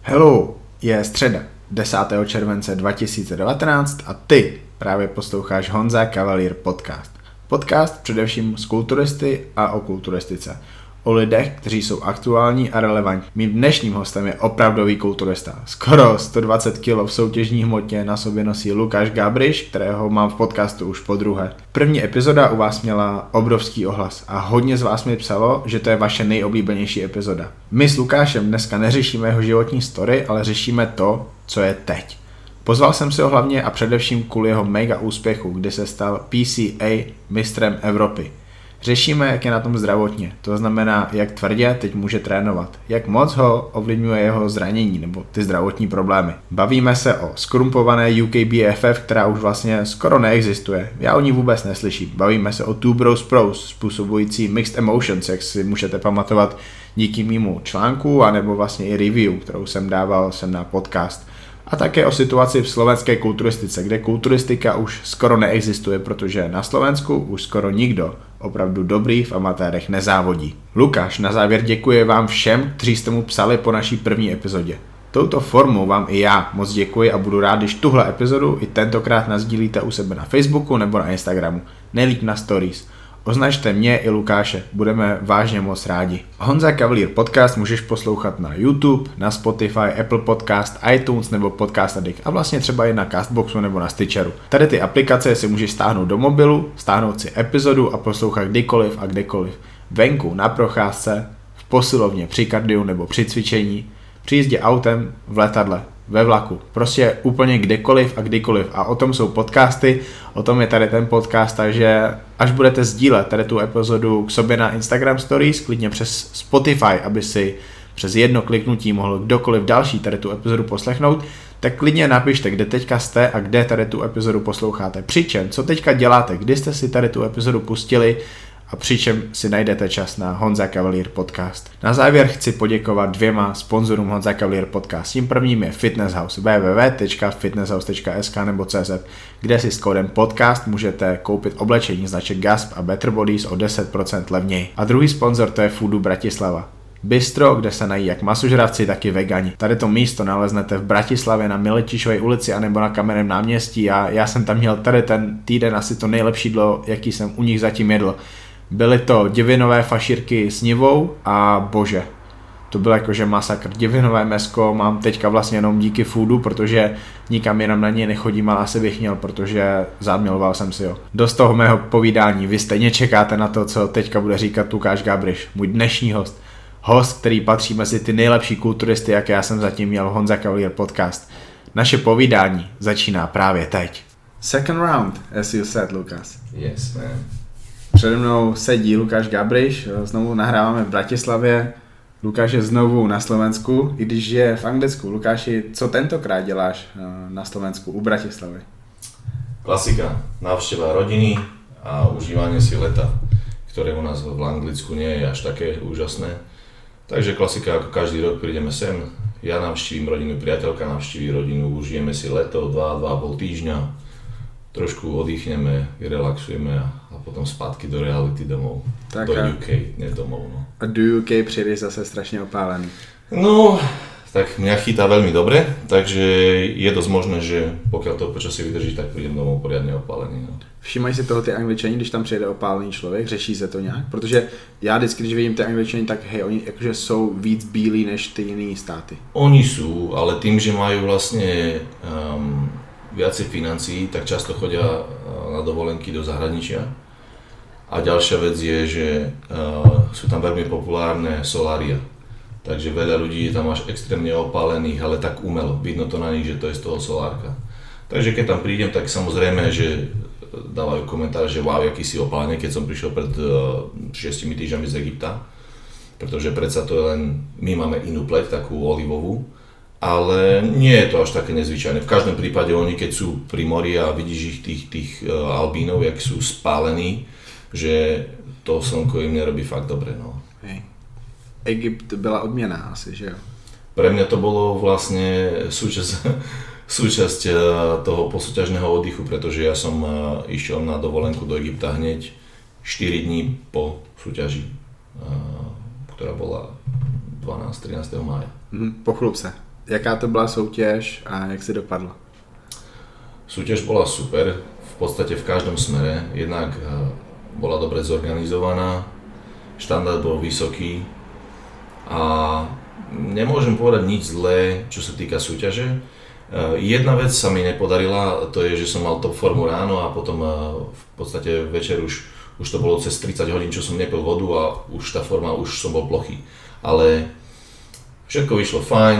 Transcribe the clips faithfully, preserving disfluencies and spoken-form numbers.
Hello, je středa, desátého července dva tisíce devatenáct a ty právě posloucháš Honza Cavalier podcast. Podcast především z kulturisty a o kulturistice. O lidech, kteří jsou aktuální a relevantní. Mým dnešním hostem je opravdový kulturista. Skoro sto dvacet kilogramů v soutěžní hmotě na sobě nosí Lukáš Gabriš, kterého mám v podcastu už po druhé. První epizoda u vás měla obrovský ohlas a hodně z vás mi psalo, že to je vaše nejoblíbenější epizoda. My s Lukášem dneska neřešíme jeho životní story, ale řešíme to, co je teď. Pozval jsem si ho hlavně a především kvůli jeho mega úspěchu, kdy se stal P C A mistrem Evropy. Řešíme, jak je na tom zdravotně, to znamená, jak tvrdě teď může trénovat, jak moc ho ovlivňuje jeho zranění nebo ty zdravotní problémy. Bavíme se o skorumpované U K B F F, která už vlastně skoro neexistuje, já o ní vůbec neslyším. Bavíme se o Two Bros Pros, způsobující mixed emotions, jak si můžete pamatovat díky mému článku, anebo vlastně i review, kterou jsem dával sem na podcast. A také o situaci v slovenské kulturistice, kde kulturistika už skoro neexistuje, protože na Slovensku už skoro nikdo opravdu dobrý v amatérech nezávodí. Lukáš na závěr děkuje vám všem, kteří jste mu psali po naší první epizodě. Touto formou vám i já moc děkuji a budu rád, když tuhle epizodu i tentokrát nasdílíte u sebe na Facebooku nebo na Instagramu, nejlíp na Stories. Označte mě i Lukáše, budeme vážně moc rádi. Honza Cavalier podcast můžeš poslouchat na YouTube, na Spotify, Apple Podcast, iTunes nebo Podcast Addict a vlastně třeba i na Castboxu nebo na Stitcheru. Tady ty aplikace si můžeš stáhnout do mobilu, stáhnout si epizodu a poslouchat kdykoliv a kdekoliv. Venku, na procházce, v posilovně, při kardiu nebo při cvičení, při jízdě autem, v letadle, ve vlaku, prostě úplně kdekoliv a kdykoliv. A o tom jsou podcasty, o tom je tady ten podcast, takže až budete sdílet tady tu epizodu k sobě na Instagram Stories, klidně přes Spotify, aby si přes jedno kliknutí mohl kdokoliv další tady tu epizodu poslechnout, tak klidně napište, kde teďka jste a kde tady tu epizodu posloucháte. Přičem, co teďka děláte, kdy jste si tady tu epizodu pustili, a přičem si najdete čas na Honza Cavalier podcast. Na závěr chci poděkovat dvěma sponzorům Honza Cavalier podcast. Tím prvním je Fitness House, w w w tečka fitness house tečka s k nebo cz, kde si s kódem podcast můžete koupit oblečení značek Gasp a Better Bodies o deset procent levněji. A druhý sponzor to je Foodu Bratislava. Bistro, kde se nají jak masožravci, tak i vegani. Tady to místo naleznete v Bratislavě na Miletišovej ulici anebo na Kamenném náměstí a já jsem tam měl tady ten týden asi to nejlepší jídlo, jaký jsem u nich zatím jedl. Byly to divinové fašírky s nivou a bože, to byl jakože masakr. Divinové mesko mám teďka vlastně jenom díky Foodu, protože nikam jenom na něj nechodím, ale asi bych měl, protože zámiloval jsem si ho. Dost toho mého povídání, vy stejně čekáte na to, co teďka bude říkat Lukáš Gabriš, můj dnešní host. Host, který patří mezi ty nejlepší kulturisty, jaké já jsem zatím měl, Honza Cavalier podcast. Naše povídání začíná právě teď. Second round, as you said, Lukas. Yes, man. Přede mnou sedí Lukáš Gabriš, znovu nahráváme v Bratislavě, Lukáš je znovu na Slovensku, i když je v Anglicku. Lukáši, co tentokrát děláš na Slovensku, u Bratislavy? Klasika, návšteva rodiny a užívanie si leta, ktoré u nás v Anglicku nie je až také úžasné. Takže klasika, ako každý rok prídeme sem, ja navštívim rodinu, priateľka navštíví rodinu, užijeme si leto, dva, dva a pol týždňa. Trošku oddychneme, relaxujeme a, a potom zpátky do reality domov, tak do U K, ne domov. No. A do U K přijdeš zase strašne opálený. No, tak mňa chytá veľmi dobre, takže je dosť možné, že pokiaľ to počasie vydrží, tak prídem domov poriadne opálený. No. Všímají si toho ty Angličani, když tam přijede opálený člověk, řeší se to nějak? Protože já vždycky, když vidím ty Angličani, tak hej, oni jakože jsou víc bílí než ty jiné státy. Oni sú, ale tým, že majú vlastne um, viacej financií, tak často chodia na dovolenky do zahraničia. A ďalšia vec je, že uh, sú tam veľmi populárne solária. Takže veľa ľudí je tam až extrémne opálených, ale tak umelo. Vidno to na nich, že to je z toho solárka. Takže keď tam prídem, tak samozrejme, že dávajú komentár, že wow, aký si opálený, keď som prišiel pred uh, šiestimi týždňami z Egypta. Pretože predsa to je len, my máme inú pleť, takú olivovú. Ale nie je to až také nezvyčajné. V každom prípade oni, keď sú pri mori a vidíš ich tých, tých uh, albínov, jak sú spálení, že to slnko im nerobí fakt dobre. No. Hej. Egypt byla odměna asi, že jo? Pre mňa to bolo vlastne súčasť, súčasť uh, toho posúťažného oddychu, pretože ja som uh, išiel na dovolenku do Egypta hneď štyri dní po súťaži, uh, ktorá bola dvanásteho trinásteho mája. Mm, pochlup se. Jaká to byla soutěž a jak si dopadla? Súťaž bola super, v podstate v každom smere. Jednak bola dobre zorganizovaná, štandard bol vysoký a nemôžem povedať nič zlé, čo sa týka súťaže. Jedna vec sa mi nepodarila, to je, že som mal top formu ráno a potom v podstate večer už, už to bolo cez tridsať hodín, čo som nepil vodu a už tá forma, už som bol plochý. Ale všetko vyšlo fajn,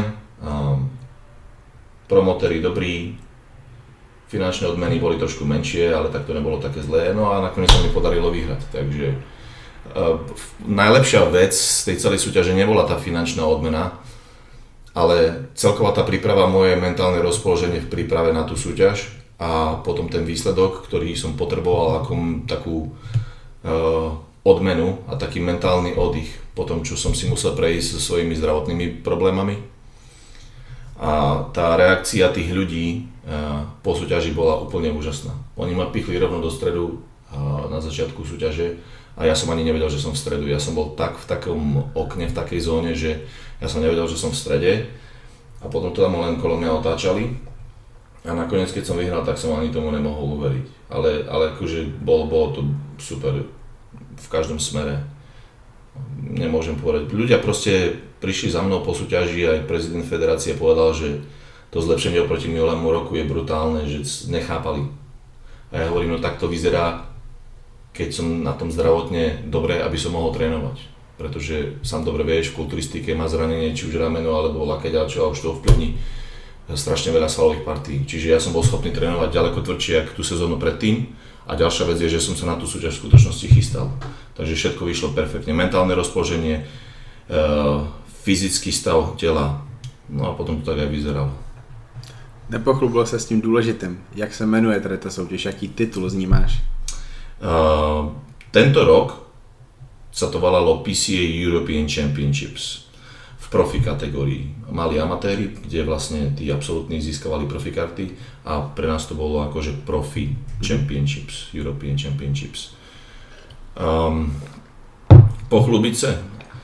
promotéri dobrí, finančné odmeny boli trošku menšie, ale tak to nebolo také zlé, no a nakoniec sa mi podarilo vyhrať, takže uh, najlepšia vec z tej celej súťaže nebola tá finančná odmena, ale celková tá príprava, moje mentálne rozpoloženie v príprave na tú súťaž a potom ten výsledok, ktorý som potreboval ako takú uh, odmenu a taký mentálny oddych po tom, čo som si musel prejsť so svojimi zdravotnými problémami. A tá reakcia tých ľudí po súťaži bola úplne úžasná. Oni ma pichli rovno do stredu na začiatku súťaže a ja som ani nevedel, že som v stredu. Ja som bol tak v takom okne, v takej zóne, že ja som nevedel, že som v strede a potom to tam len kolo mňa otáčali a nakoniec, keď som vyhral, tak som ani tomu nemohol uveriť. Ale, ale akože bolo, bolo to super v každom smere. Nemôžem povedať. Ľudia proste prišli za mnou po súťaži, aj prezident federácie povedal, že to zlepšenie oproti minulému roku je brutálne, že nechápali. A ja hovorím, no tak to vyzerá, keď som na tom zdravotne dobre, aby som mohol trénovať. Pretože sám dobre vieš, v kulturistike má zranenie, či už rameno alebo lakeť, čo a už to ovplyvní strašne veľa svalových partí. Čiže ja som bol schopný trénovať ďaleko tvrdšie, ako tú sezónu predtým. A ďalšia vec je, že som sa na tú súťaž v skutočnosti chystal. Takže všetko vyšlo perfektne. Mentálne rozpoloženie, e, fyzický stav tela, no a potom to tak aj vyzeralo. Nepochlubil se s tím důležitým. Jak se jmenuje tady ta soutěž? Jaký titul z ní máš? Uh, tento rok sa to volalo P C A European Championships v profi kategórii. Mali amatéri, kde vlastne tí absolútni získavali profi karty a pre nás to bolo akože profi Championships, European Championships. Um, pochlubiť sa?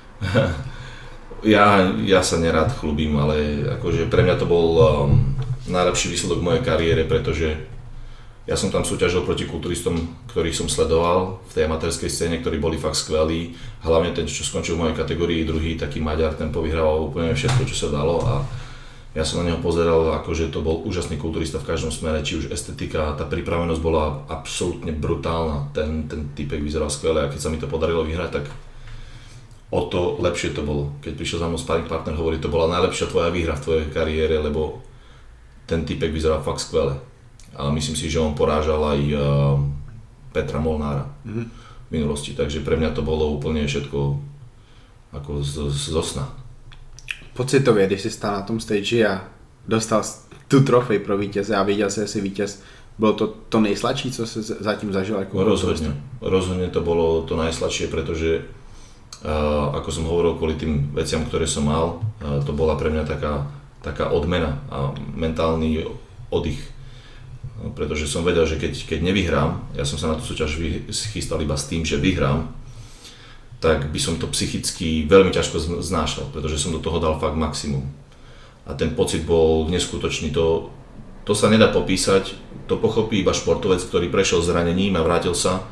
ja, ja sa nerád chlubím, ale akože pre mňa to bol um, najlepší výsledok mojej kariére, pretože ja som tam súťažil proti kulturistom, ktorých som sledoval v tej amatérskej scéne, ktorí boli fakt skvelí. Hlavne ten, čo skončil v mojej kategórii, druhý taký Maďar, ten povyhrával úplne všetko, čo sa dalo a ja som na neho pozeral, akože to bol úžasný kulturista v každom smere, či už estetika, tá pripravenosť bola absolútne brutálna, ten, ten typek vyzeral skvelé a keď sa mi to podarilo vyhrať, tak o to lepšie to bolo. Keď prišiel za mnou sparring partner, hovorí, to bola najlepšia tvoja výhra v tvojej kariére, lebo ten typek vyzeral fakt skvelé. Ale myslím si, že on porážal aj uh, Petra Molnára mm-hmm. v minulosti, takže pre mňa to bolo úplne všetko ako z, z, zo sna. Pocitově, když jsi stál na tom stage a dostal tu trofej pro vítěze a viděl si, jestli vítěz, bylo to to nejsladší, co jsi zatím zažil? Jako rozhodne, rozhodne to bolo to najsladšie, pretože uh, ako som hovoril, kvôli tým veciam, ktoré som mal, uh, to bola pre mňa taká, taká odmena a mentálny oddych. Pretože som vedel, že keď, keď nevyhrám, ja som sa na tú súťaž chystal iba s tým, že vyhrám, tak by som to psychicky veľmi ťažko znášal, pretože som do toho dal fakt maximum. A ten pocit bol neskutočný, to, to sa nedá popísať, to pochopí iba športovec, ktorý prešiel zranením a vrátil sa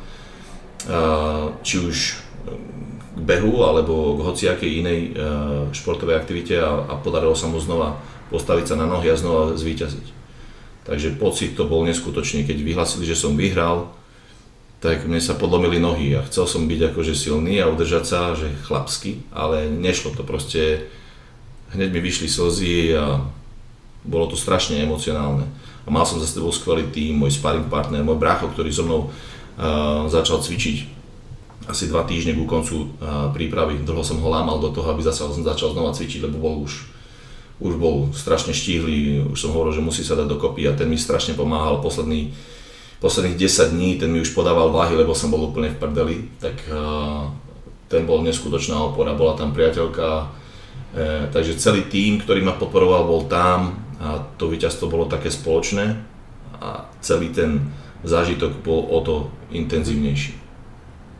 či už k behu alebo k hociakej inej športovej aktivite a, a podarilo sa mu znova postaviť sa na nohy a znova zvíťaziť. Takže pocit to bol neskutočný, keď vyhlásili, že som vyhral, tak mne sa podlomili nohy a chcel som byť akože silný a udržať sa, že chlapsky, ale nešlo to proste, hneď mi vyšli slzy a bolo to strašne emocionálne. A mal som za sebou skvelý tím, môj sparring partner, môj brácho, ktorý so mnou uh, začal cvičiť asi dva týždne ku koncu uh, prípravy. Dlho som ho lámal do toho, aby zase som začal znova cvičiť, lebo bol už už bol strašne štíhly, už som hovoril, že musí sa dať dokopy a ten mi strašne pomáhal posledný, posledných desať dní, ten mi už podával váhy, lebo som bol úplne v prdeli, tak uh, ten bol neskutočná opora, bola tam priateľka, uh, takže celý tím, ktorý ma podporoval, bol tam a to víťazstvo bolo také spoločné a celý ten zážitok bol o to intenzívnejší.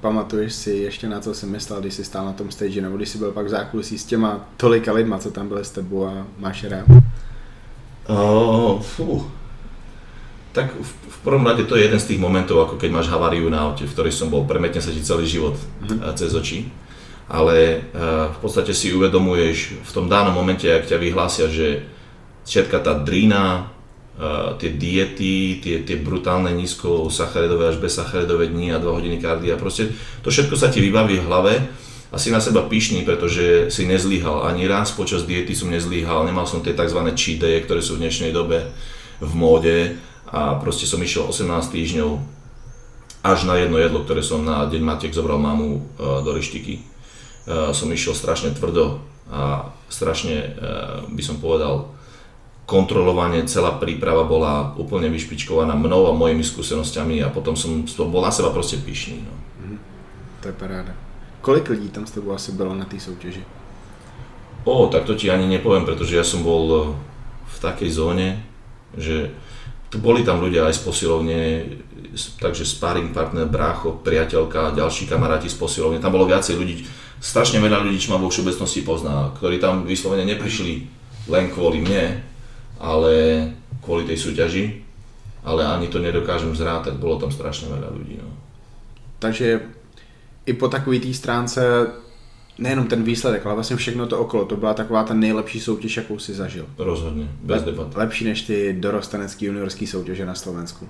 pamatuješ si ještě na co jsi myslel, když jsi stál na tom stage, nebo když jsi byl pak v zákulisí s těma tolika lidma, co tam byli s tebou a máš rád? Uh, fú. Tak v, v prvom rade to je jeden z tých momentov, ako keď máš haváriu na aute, v ktorej som bol, premetne sa ti celý život mm-hmm. cez oči. Ale uh, v podstate si uvedomuješ v tom danom momente, ak ťa vyhlásia, že všetka tá drína, uh, tie diety, tie, tie brutálne nízko sacharidové až bez sacharidové dni a dva hodiny kardia, proste to všetko sa ti vybaví v hlave a si na seba pyšný, pretože si nezlíhal. Ani raz počas diety som nezlíhal, nemal som tie tzv. Cheat day, ktoré sú v dnešnej dobe v móde. A proste som išiel osemnásť týždňov až na jedno jedlo, ktoré som na deň matiek zobral mamu do reštiky. Som išiel strašne tvrdo a strašne, by som povedal, kontrolovanie, celá príprava bola úplne vyšpičkovaná mnou a mojimi skúsenosťami a potom som bol na seba proste pyšný. No. Mm, to je paráda. Kolik lidí tam s tebou asi bylo na té soutěži? O, tak to ti ani nepoviem, pretože ja som bol v takej zóne, že boli tam ľudia aj z posilovne, takže sparring partner, brácho, priateľka, ďalší kamaráti z posilovne. Tam bolo viacej ľudí, strašne veľa ľudí, čo ma vo všeobecnosti pozná, ktorí tam vyslovene neprišli len kvôli mne, ale kvôli tej súťaži. Ale ani to nedokážem zrátať, bolo tam strašne veľa ľudí. No. Takže i po takový té stránce nejenom ten výsledek, ale vlastně všechno to okolo, to byla taková ta nejlepší soutěž, jakou si zažil. Rozhodně, bez debat. Lepší než ty dorostenecký juniorský soutěže na Slovensku.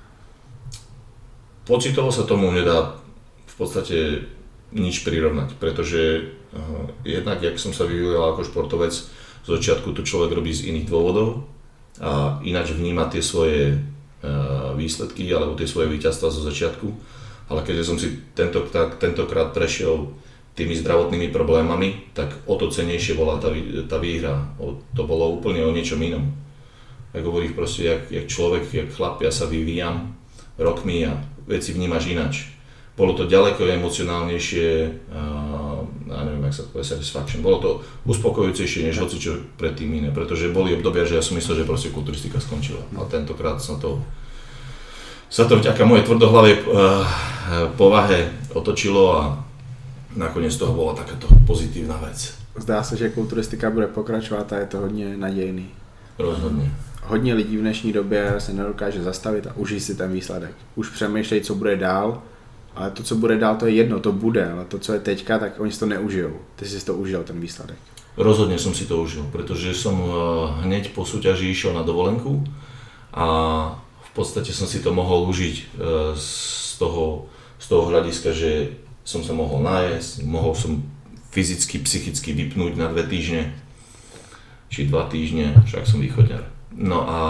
Pocitovo sa tomu nedá v podstate nič prirovnať, pretože uh, jednak, jak som sa vyvíjal ako športovec, z začiatku to človek robí z iných dôvodov a ináč vníma tie svoje uh, výsledky alebo tie svoje víťazstva zo začiatku, ale keďže som si tento, tak, tentokrát prešiel tými zdravotnými problémami, tak o to cennejšie bola tá, tá výhra. O, to bolo úplne o niečom inom. Jak hovoríš proste, jak, jak človek, jak chlap, ja sa vyvíjam rokmi a veci vnímaš inač. Bolo to ďaleko emocionálnejšie, uh, ja neviem, jak sa to povie, satisfaction. Bolo to uspokojujúcejšie, než hocičo predtým iné, pretože boli obdobia, že ja som myslel, že proste kulturistika skončila. A tentokrát sa to, sa to vďaka mojej tvrdohlavej uh, povahe otočilo a nakoniec toho bola takáto pozitívna vec. Zdá se, že kulturistika bude pokračovat a je to hodně nadějný. Rozhodně. Hodně lidí v dnešní době se nedokáže zastavit a užít si ten výsledek. Už přemýšlejí, co bude dál, ale to, co bude dál, to je jedno, to bude, ale to, co je teďka, tak oni si to neužijou. Ty si to užil, ten výsledek. Rozhodne som si to užil, pretože som hneď po súťaži išiel na dovolenku a v podstate som si to mohol užiť z toho, z toho hľadiska, že som sa mohol najesť, mohol som fyzicky, psychicky vypnúť na dve týždne, či dva týždne, však som východňar. No a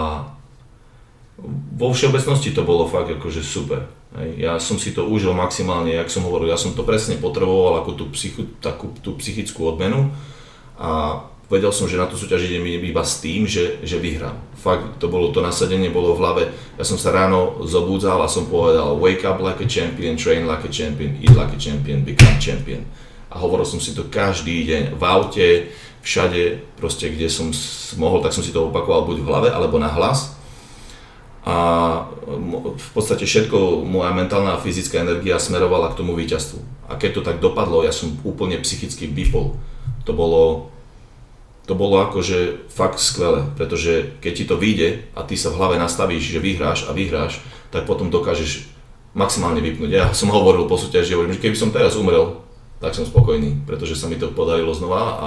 vo všeobecnosti to bolo fakt akože super. Ja som si to užil maximálne, jak som hovoril, ja som to presne potreboval ako tú, psychu, takú, tú psychickú odmenu a vedel som, že na tú súťaž idem iba s tým, že, že vyhrám. Fakt to bolo to nasadenie, bolo v hlave. Ja som sa ráno zobudzal a som povedal wake up like a champion, train like a champion, eat like a champion, become champion. A hovoril som si to každý deň v aute, všade, proste kde som mohol, tak som si to opakoval buď v hlave alebo na hlas. A v podstate všetko, moja mentálna a fyzická energia smerovala k tomu víťazstvu. A keď to tak dopadlo, ja som úplne psychicky vypol. To bolo To bolo akože fakt skvelé, pretože keď ti to vyjde a ty sa v hlave nastavíš, že vyhráš a vyhráš, tak potom dokážeš maximálne vypnúť. Ja som hovoril po súťaži, hovorím, že keby som teraz umrel, tak som spokojný, pretože sa mi to podarilo znova a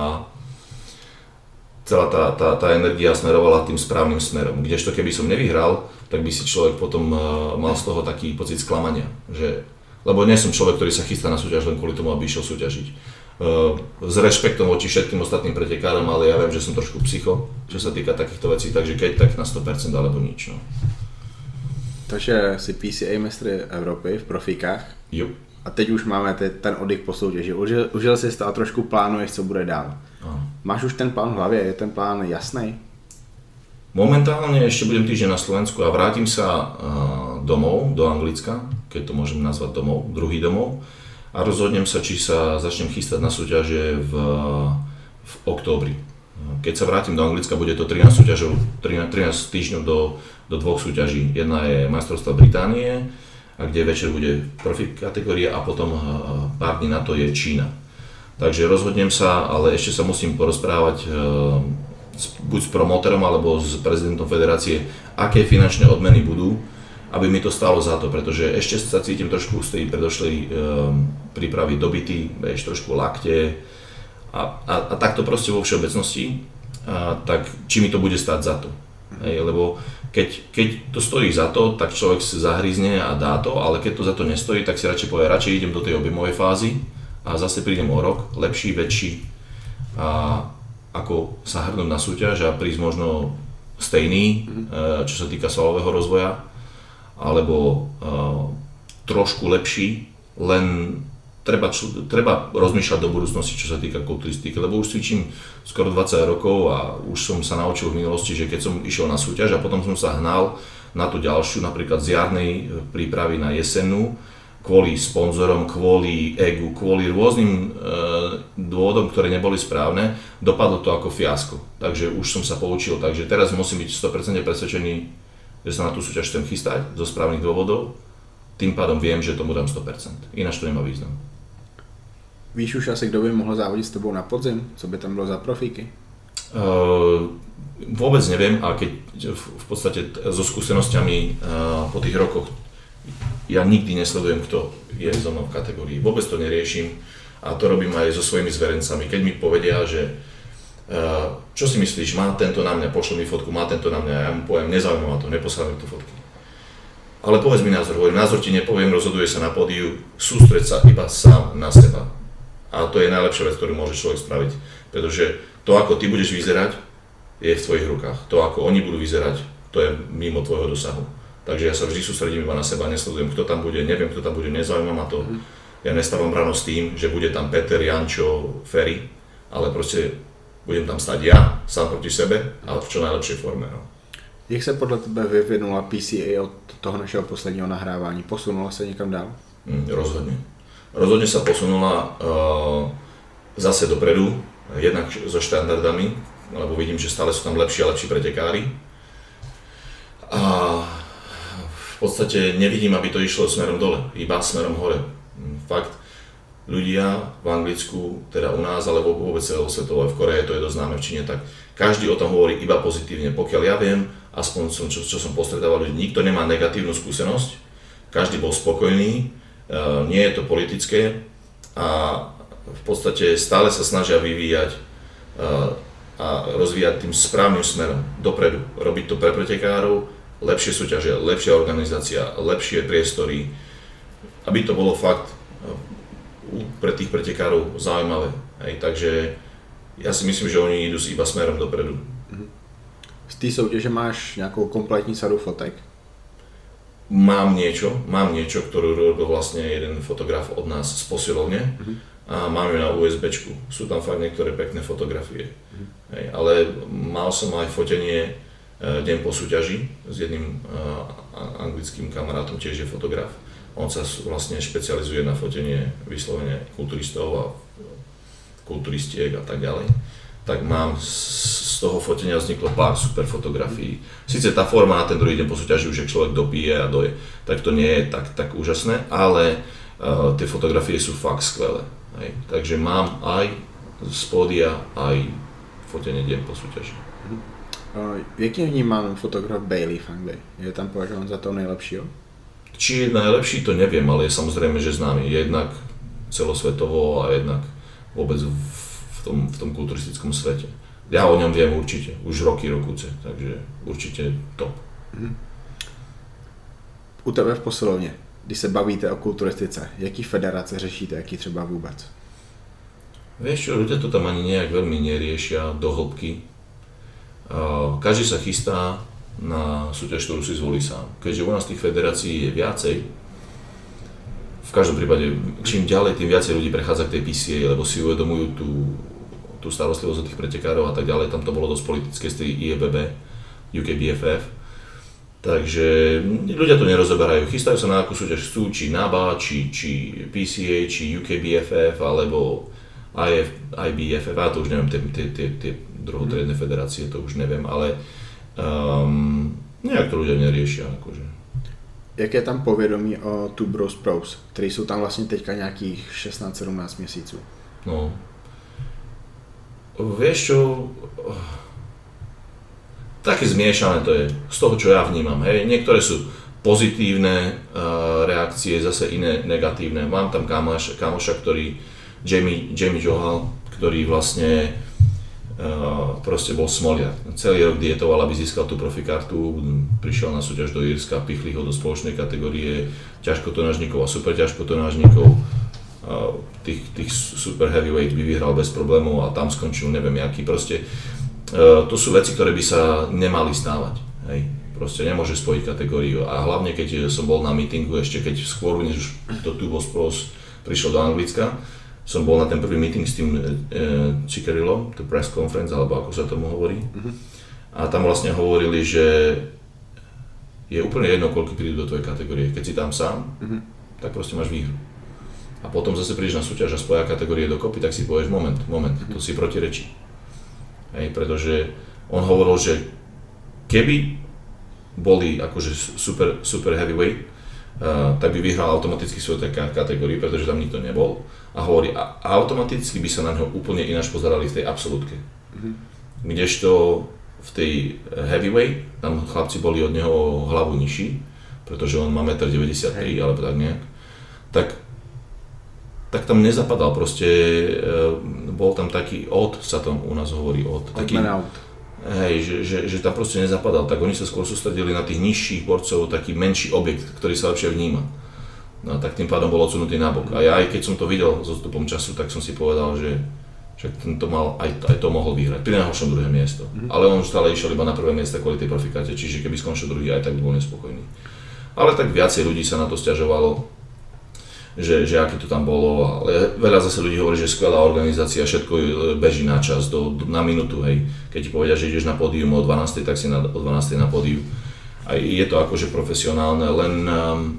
celá tá, tá, tá energia smerovala tým správnym smerom. Kdežto keby som nevyhral, tak by si človek potom mal z toho taký pocit sklamania. Že, lebo nie som človek, ktorý sa chystá na súťaž len kvôli tomu, aby išiel súťažiť. S rešpektom voči všetkým ostatným pretekárom, ale ja viem, že som trošku psycho, čo sa týka takýchto vecí, takže keď tak na sto percent alebo nič. No. Takže si P C A mistr Evropy v profíkách. Jo. A teď už máme ten oddych po soutěži. Užil, užil jsi to a trošku plánuješ, co bude dál. Aha. Máš už ten plán v hlavě? Je ten plán jasný? Momentálne ešte budem týždeň na Slovensku a vrátim sa domov, do Anglicka, keď to môžem nazvať domov, druhý domov. A rozhodnem sa, či sa začnem chystať na súťaže v, v októbri. Keď sa vrátim do Anglicka, bude to trinásť súťažov, trinásť týždňov do, do dvoch súťaží. Jedna je majstrovstvá Británie a kde večer bude profi kategória a potom pár dní na to je Čína. Takže rozhodnem sa, ale ešte sa musím porozprávať buď s promotérom alebo s prezidentom federácie, aké finančné odmeny budú, aby mi to stálo za to, pretože ešte sa cítim trošku z tej predošlej prípravy dobytý, vieš, trošku lakte a, a, a takto proste vo všeobecnosti, a, tak či mi to bude stáť za to. Hej, lebo keď, keď to stojí za to, tak človek si zahryzne a dá to, ale keď to za to nestojí, tak si radšej povie, radšej idem do tej objemovej fázy a zase prídem o rok, lepší, väčší, a ako sa hrnúť na súťaž a prísť možno stejný, čo sa týka svalového rozvoja, alebo uh, trošku lepší, len treba, treba rozmýšľať do budúcnosti, čo sa týka kulturistiky, lebo už cvičím skoro dvadsať rokov a už som sa naučil v minulosti, že keď som išiel na súťaž a potom som sa hnal na tú ďalšiu, napríklad z jarnej prípravy na jesennú, kvôli sponzorom, kvôli egu, kvôli rôznym e, dôvodom, ktoré neboli správne, dopadlo to ako fiasko. Takže už som sa poučil, takže teraz musím byť sto percent presvedčený, že sa na tú súťaž chcem chystať zo správnych dôvodov, tým pádom viem, že tomu dám sto percent, ináč to nemá význam. Víš už asi, kdo by mohl závodit s tebou na podzim? Co by tam bylo za profíky? Uh, vôbec neviem a keď v podstate so skúsenosťami uh, po tých rokoch ja nikdy nesledujem, kto je so mnou v kategórii. Vôbec to neriešim a to robím aj so svojimi zverencami. Keď mi povedia, že uh, čo si myslíš, má tento na mňa, pošli mi fotku, má tento na mňa, ja mu poviem, nezaujíma ma to, neposlám mi tu fotky. Ale povedz mi názor, hovorím, názor ti nepoviem, rozhoduje sa na pódiu, sústreď sa iba sám na seba. A to je najlepšia vec, ktorú môže človek spraviť, pretože to, ako ty budeš vyzerať, je v tvojich rukách. To, ako oni budú vyzerať, to je mimo tvojho dosahu. Takže ja sa vždy sústredím iba na seba, nesledujem, kto tam bude, neviem, kto tam bude, nezaujíma ma to. Ja nestávam ráno s tým, že bude tam Peter, Jančo, Ferry, ale proste budem tam stať ja, sám proti sebe, ale v čo najlepšej forme. No. Jak se podle tebe vyvinula P C A od toho našeho posledního nahrávání? Posunula se někam dál? Mm, rozhodne. Rozhodne sa posunula uh, zase dopredu, jednak so štandardami, lebo vidím, že stále sú tam lepší a lepší pretekári. A v podstate nevidím, aby to išlo smerom dole, iba smerom hore. Fakt, ľudia v Anglicku, teda u nás, alebo vôbec celosvetovo, v Koreji, to je dosť známe, v Číne, tak každý o tom hovorí iba pozitívne. Pokiaľ ja viem, aspoň som, čo, čo som postretával ľudí, nikto nemá negatívnu skúsenosť, každý bol spokojný, uh, nie je to politické a v podstate stále sa snažia vyvíjať uh, a rozvíjať tým správnym smerom, dopredu. Robiť to pre pretekárov, lepšie súťaže, lepšia organizácia, lepšie priestory, aby to bolo fakt pre tých pretekárov zaujímavé. Hej, takže ja si myslím, že oni idú iba smerom dopredu. Z té soutěže máš nějakou kompletní sadu fotek? Mám niečo, mám niečo, ktorú robil vlastne jeden fotograf od nás z posilovne uh-huh. a mám ju na USBčku. Sú tam fakt niektoré pekné fotografie. Uh-huh. Hej, ale mal som aj fotenie uh, deň po súťaži s jedným uh, anglickým kamarátom, tiež je fotograf. On sa vlastne špecializuje na fotenie vyslovene kulturistov a kulturistiek a tak ďalej. Tak mám z toho fotenia vzniklo pár super fotografií. Sice tá forma na ten druhý deň po súťaži už, ak človek dopije a doje, tak to nie je tak, tak úžasné, ale uh, tie fotografie sú fakt skvelé. Hej. Takže mám aj z pódia, aj fotenie deň po súťaži. Uh, jak je vnímán fotograf Bailey v Anglii? Je tam považovaný za toho nejlepšího? Či je najlepší, to neviem, ale je samozrejme, že známy. Jednak celosvetovo a jednak vôbec v, v, tom, v tom kulturistickom svete. Ja o ňom viem určite, už roky, rokuce, takže určite top. Hmm. U tebe v posilovně, když se bavíte o kulturistice, jaký federace řešíte, jaký třeba vůbec? Vieš čo, ľudia to tam ani nejak veľmi neriešia do hĺbky. Každý sa chystá na súťaž, ktorú si zvolí sám. Keďže u nás tých federácií je viacej, v každom prípade, čím ďalej, tým viacej ľudí prechádza k tej P C A, lebo si uvedomujú tú, tú starostlivosť o tých pretekárov a tak ďalej. Tam to bolo dosť politické z tej I E B B, U K B F F. Takže ľudia to nerozoberajú. Chystajú sa na akú súťaž chcú, či N A B A, či, či P C A, či U K B F F, alebo I F, I B F F, a to už neviem, tie, tie, tie, tie druhotriedne federácie, to už neviem, ale um, nejak to ľudia neriešia. Akože. jak je tam povědomí o Two Bros Pros, který jsou tam vlastně teďka nějakých šestnáct sedmnáct měsíců? No, vieš čo, také zmiešané to je, z toho čo ja vnímam, hej, niektoré sú pozitívne uh, reakcie, zase iné negatívne. Mám tam kamoš, kamoša, ktorý, Jamie, Jamie Johal, ktorý vlastne uh, proste bol smoliak. Celý rok dietoval, aby získal tú profikartu, prišiel na súťaž do Írska, pichli ho do spoločnej kategórie ťažkotonážnikov a super ťažkotonážnikov. Uh, tých, tých super heavyweight by vyhral bez problémov a tam skončil neviem jaký. Proste uh, to sú veci, ktoré by sa nemali stávať. Hej. Proste nemôže spojiť kategóriu a hlavne keď som bol na meetingu ešte keď skôr než už to Two Bros Pros prišiel do Anglicka, som bol na ten prvý meeting s tým e, Ciccarellom, to press conference alebo ako sa tomu hovorí. Uh-huh. A tam vlastne hovorili, že je úplne jedno koľko prídu do tvojej kategórie, keď si tam sám, uh-huh. tak proste máš výhru. A potom zase prídeš na súťaž a spoja kategórie dokopy, tak si povieš moment, moment, uh-huh. to si protirečí. Hej, pretože on hovoril, že keby boli akože super, super heavyweight, uh, tak by vyhral automaticky svoju kategóriu, pretože tam nikto nebol. A hovorí, a, a automaticky by sa na ňo úplne ináč pozerali v tej absolútke. Mm-hmm. Kdežto v tej heavyweight, tam chlapci boli od neho hlavu nižší, pretože on má jeden deväťdesiattri alebo tak nejak, tak, tak tam nezapadal, proste uh, bol tam taký odd, sa tam u nás hovorí odd. Taký, hej, že, že, že tam proste nezapadal, tak oni sa skôr sústredili na tých nižších borcov, taký menší objekt, ktorý sa lepšie vníma. No tak tým pádom bol odsunutý nabok. A ja aj keď som to videl s odstupom času, tak som si povedal, že však tento mal, aj, aj to mohol vyhrať. Pri najhoršom druhé miesto. Mm-hmm. Ale on stále išiel iba na prvé miesto kvôli tej profikáte, čiže keby skončil druhý, aj tak by bol nespokojný. Ale tak viacej ľudí sa na to sťažovalo, že, že aké to tam bolo, ale veľa zase ľudí hovorí, že skvelá organizácia, všetko beží na čas, do, do, na minútu, hej. Keď ti povedia, že ideš na pódium o dvanástej, tak si na, o dvanástej na pódiu. A je to akože profesionálne, len um,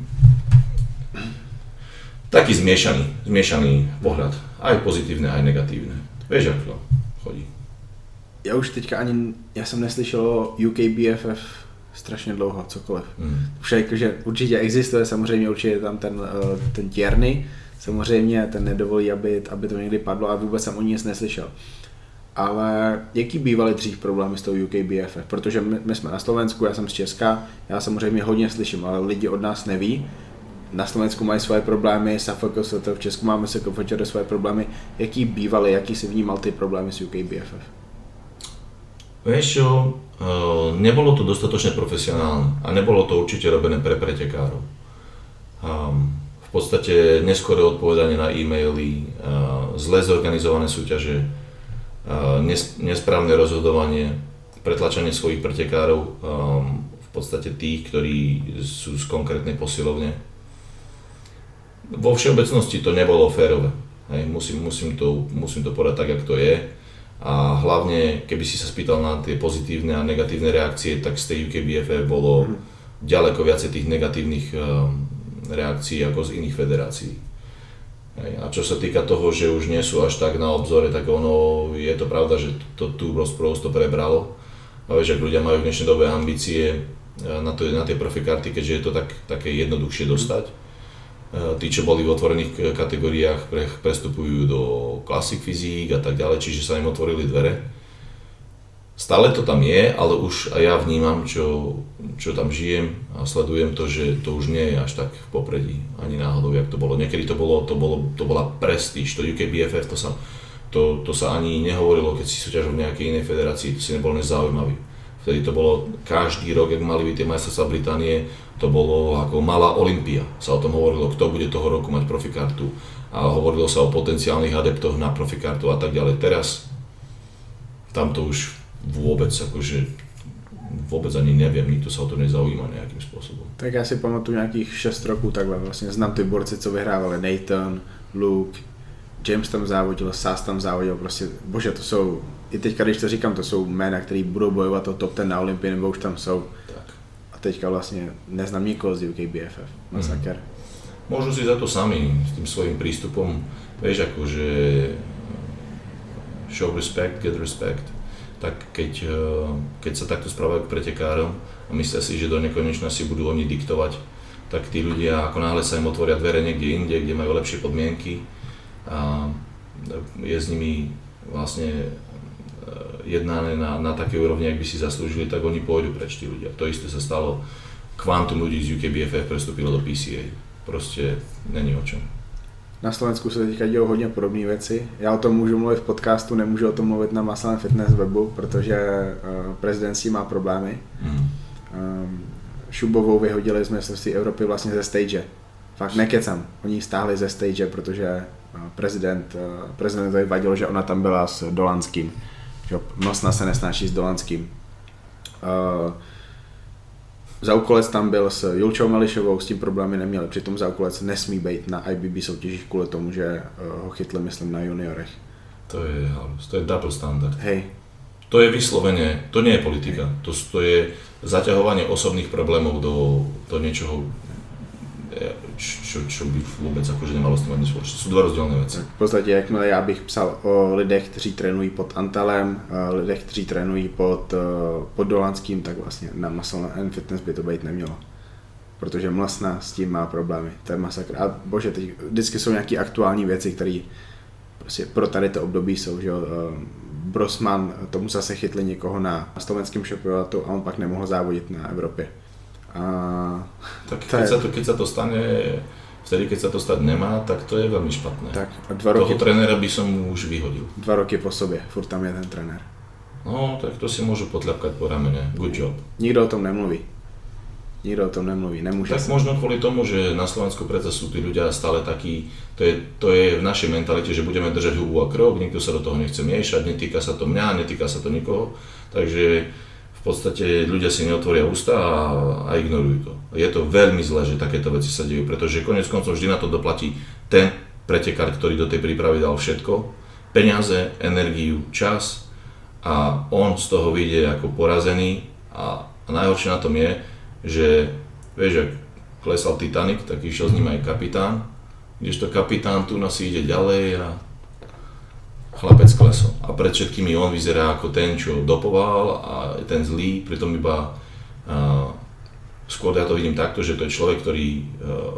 taký zmiešaný, zmiešaný pohľad, aj pozitívne, aj negatívne. Vieš, ako to chodí. Já už teďka ani, já jsem neslyšel o U K B F F strašně dlouho, cokoliv. Mm. Už jakože určitě existuje, samozřejmě určitě je tam ten, ten Tierney, samozřejmě ten nedovolí, aby, aby to někdy padlo a vůbec jsem o ní nic neslyšel. Ale jaký bývaly dřív problémy s tou U K B F F? Protože my, my jsme na Slovensku, já jsem z Česka, já samozřejmě hodně slyším, ale lidi od nás neví. Na Slovensku mají svoje problémy, S A F K S T, v Česku máme S K F Č R svoje problémy. Jaký bývaly, jaký si vnímal ty problémy s U K B F F? Vieš čo, nebolo to dostatočne profesionálne a nebolo to určite robené pre pretekárov. V podstate neskoré odpovedanie na e-maily, zle zorganizované súťaže, nesprávne rozhodovanie, pretlačanie svojich pretekárov, v podstate tých, ktorí sú z konkrétnej posilovne. Vo všeobecnosti to nebolo férové. Hej, musím, musím, to, musím to povedať tak, jak to je. A hlavne, keby si sa spýtal na tie pozitívne a negatívne reakcie, tak z tej U K B F F bolo mm. ďaleko viacej tých negatívnych um, reakcií ako z iných federácií. Hej. A čo sa týka toho, že už nie sú až tak na obzore, tak ono, je to pravda, že to Two Bros Pros to prebralo. A vieš, ak ľudia majú v dnešnej dobe ambície na, to, na tie profikarty, keďže je to tak, také jednoduchšie dostať. Tí, čo boli v otvorených kategóriách, pre, prestupujú do Classic Physique a tak ďalej, čiže sa im otvorili dvere. Stále to tam je, ale už aj ja vnímam, čo, čo tam žijem a sledujem to, že to už nie je až tak v popredí, ani náhodou, jak to bolo. Niekedy to, bolo, to, bolo, to bola prestíž, to U K B F F, to sa, to, to sa ani nehovorilo, keď si súťažil v nejakej inej federácii, to si nebol než zaujímavý. Vtedy to bolo každý rok, ak mali byť tie majstrovstvá Británie, to bolo ako malá Olympia. Sa o tom hovorilo, kto bude toho roku mať profikartu a hovorilo sa o potenciálnych adeptoch na profikartu a tak ďalej. Teraz tam to už vôbec, akože vôbec ani neviem, nikto sa o to nezaujíma nejakým spôsobom. Tak já si pamatuju nějakých šest roků takhle, vlastně znám ty borci, co vyhrávali, Nathan, Luke, James tam závodil, Sass tam závodil, prostě, bože, to jsou, i teďka, když to říkám, to jsou jména, který budou bojovat o top ten na Olympii, nebo už tam jsou. Tak. A teďka vlastně neznám nikoho z U K B F F, masaker. Mm. Môžu si za to sami, s tým svojím prístupom, vieš, akože show respect, get respect, tak keď, keď sa takto správajú k pretekárom a myslia si, že do nekonečna si budú oni diktovať tak tí ľudia, ako náhle sa im otvoria dvere niekde inde, kde majú lepšie podmienky a je s nimi vlastne jednané na, na také úrovni, ak by si zaslúžili, tak oni pôjdu preč tí ľudia. To isté sa stalo, kvantum ľudí z U K B F F prestúpilo do P C A. Proste není o čom. Na Slovensku se teďka dějou hodně podobné věci. Já o tom můžu mluvit v podcastu, nemůžu o tom mluvit na Muscle Fitness webu, protože uh, prezident s tím má problémy. Mm. Um, Šubovou vyhodili z mistrovství Evropy vlastně ze stage. Fakt nekecam. Oni ji stáhli ze stage, protože uh, prezident, uh, prezidentovi vadilo, že ona tam byla s Dolanským. Že Mlsna se nesnáší s Dolanským. Uh, Zaukolec tam byl s Julčou Melišovou, s tím problémy neměli, přitom Zaukolec nesmí být na I B B soutěžích kvůli tomu, že ho chytli, myslím, na juniorech. To je halus, to je double standard. Hej. To je vyslovene, to nie je politika, to, to je zaťahovanie osobných problémov do, do niečoho, čo, čo by vôbec akože nemalo s tým ani spoločné. Sú dva rozdielne veci. V podstatě, jakmile já bych psal o lidech, kteří trénují pod Antalem, lidech, kteří trénují pod, pod Dolanským, tak vlastně na Muscle and Fitness by to být nemělo. Protože Mlsna s tím má problémy, to je masakr. A bože, teď vždycky jsou nějaké aktuální věci, které prostě pro tady to období jsou, že jo. Brosman, tomu zase chytli někoho na slovenském šampionátu a on pak nemohl závodit na Evropě. A tak keď, je... sa to, keď sa to stane, vtedy keď sa to stať nemá, tak to je veľmi špatné. Tak, a dva roky... Toho trénera by som mu už vyhodil. Dva roky po sobě, furt tam je ten trenér. No, tak to si môžu potľapkať po ramene. Good job. Nikdo o tom nemluví. Nikdo o tom nemluví, nemôže tak sa. Možno kvôli tomu, že na Slovensku predsa sú tí ľudia stále takí, to je, to je v našej mentalite, že budeme držať hubu a krok, nikto sa do toho nechce miešať, netýka sa to mňa, netýka sa to nikoho, takže v podstate ľudia si neotvoria ústa a, a ignorujú to. Je to veľmi zlé, že takéto veci sa dejú, pretože koniec koncov vždy na to doplatí ten pretekár, ktorý do tej prípravy dal všetko, peniaze, energiu, čas a on z toho vyjde ako porazený a, a najhoršie na tom je, že vieš, ak klesal Titanic, tak išiel s ním aj kapitán, kdežto kapitán tu nás ide ďalej a chlapec klesol. A pred všetkými on vyzerá ako ten, čo dopoval a ten zlý, pritom iba uh, skôr ja to vidím takto, že to je človek, ktorý uh,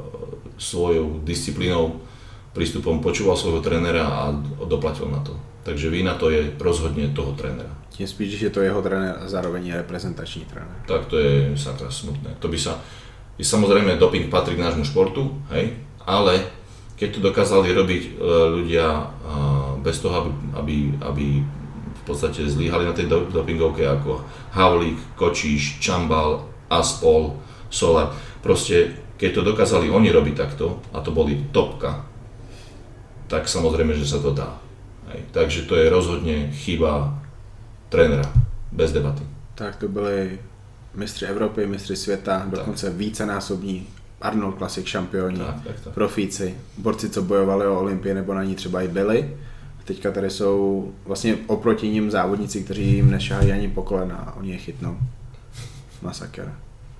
svojou disciplínou, prístupom počúval svojho trénera a doplatil na to. Takže vina to je rozhodne toho trénera. Tím spíš, že to je jeho trenér a zároveň je reprezentační trenér. Tak to je sakra smutné. To by sa, samozrejme doping patrí k nášmu športu, hej, ale keď to dokázali robiť ľudia bez toho, aby, aby, aby v podstate zlyhali na tej dopingovke ako Havlík, Kočíš, Čambal, Aspol, Solar. Proste keď to dokázali oni robiť takto, a to boli topka, tak samozrejme, že sa to dá. Hej. Takže to je rozhodne chyba trénera, bez debaty. Tak to byli mistři Evropy, mistři světa, dokonce vícenásobní Arnold Classic šampioni, tak, tak, tak. Profíci, borci, co bojovali o Olympii nebo na ní třeba i byli. Teďka tady jsou vlastně oproti ním závodníci, kteří jim nešahají ani po kolena a oni je chytnou. Masakr.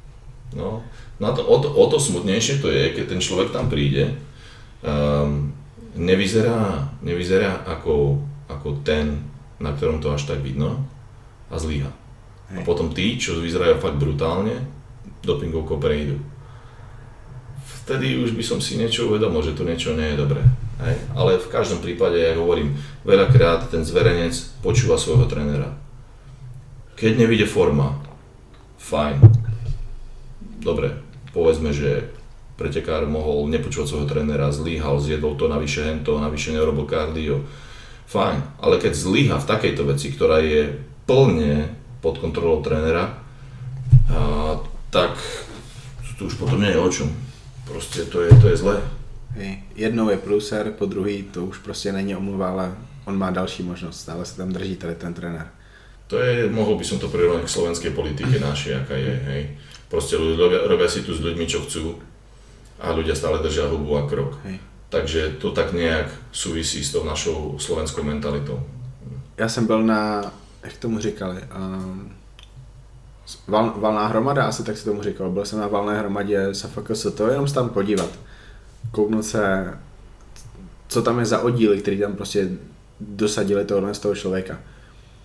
No, na to, o, to, o to smutnejšie to je, keď ten človek tam príde, um, nevyzerá, nevyzerá ako, ako ten, na ktorom to až tak vidno a zlyha. Hej. A potom tí, čo vyzerajú fakt brutálne, dopingovkou prejdú. Vtedy už by som si niečo uvedomil, že to niečo nie je dobré. Hej. Ale v každom prípade, ja hovorím, veľakrát ten zverenec počúva svojho trénera. Keď nevyjde forma, fajn. Dobre, povedzme, že pretekár mohol nepočúvať svojho trénera, zlyhal, zjedol to, navyše hento, navyše neurobil kardio. Fajn, ale keď zlyha v takejto veci, ktorá je plne pod kontrolou trénera, a, tak to už potom nie je o čom. Proste to je, to je zlé. Hej. Jednou je pluser, po druhý to už prostě není omluva, ale on má další možnost, stále se tam drží tady ten trenér. To je, mohol by som to prirovnať k slovenskej politike našej, aká je, hej. Proste ľudia robia si tu s ľuďmi, čo chcú a ľudia stále držia hubu a krok. Hej. Takže to tak nejak súvisí s tou našou slovenskou mentalitou. Já jsem byl na, jak tomu říkali, um, val, valná hromada, asi tak si tomu říkal, byl jsem na valné hromadě S F K S, to jenom se tam podívat, kouknout se, co tam je za oddíly, který tam prostě dosadili tohle z toho člověka.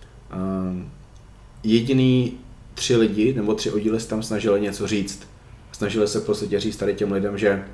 Um, jediný tři lidi, nebo tři oddíly se tam snažili něco říct Snažili se v podstatě říct tady těm lidem, že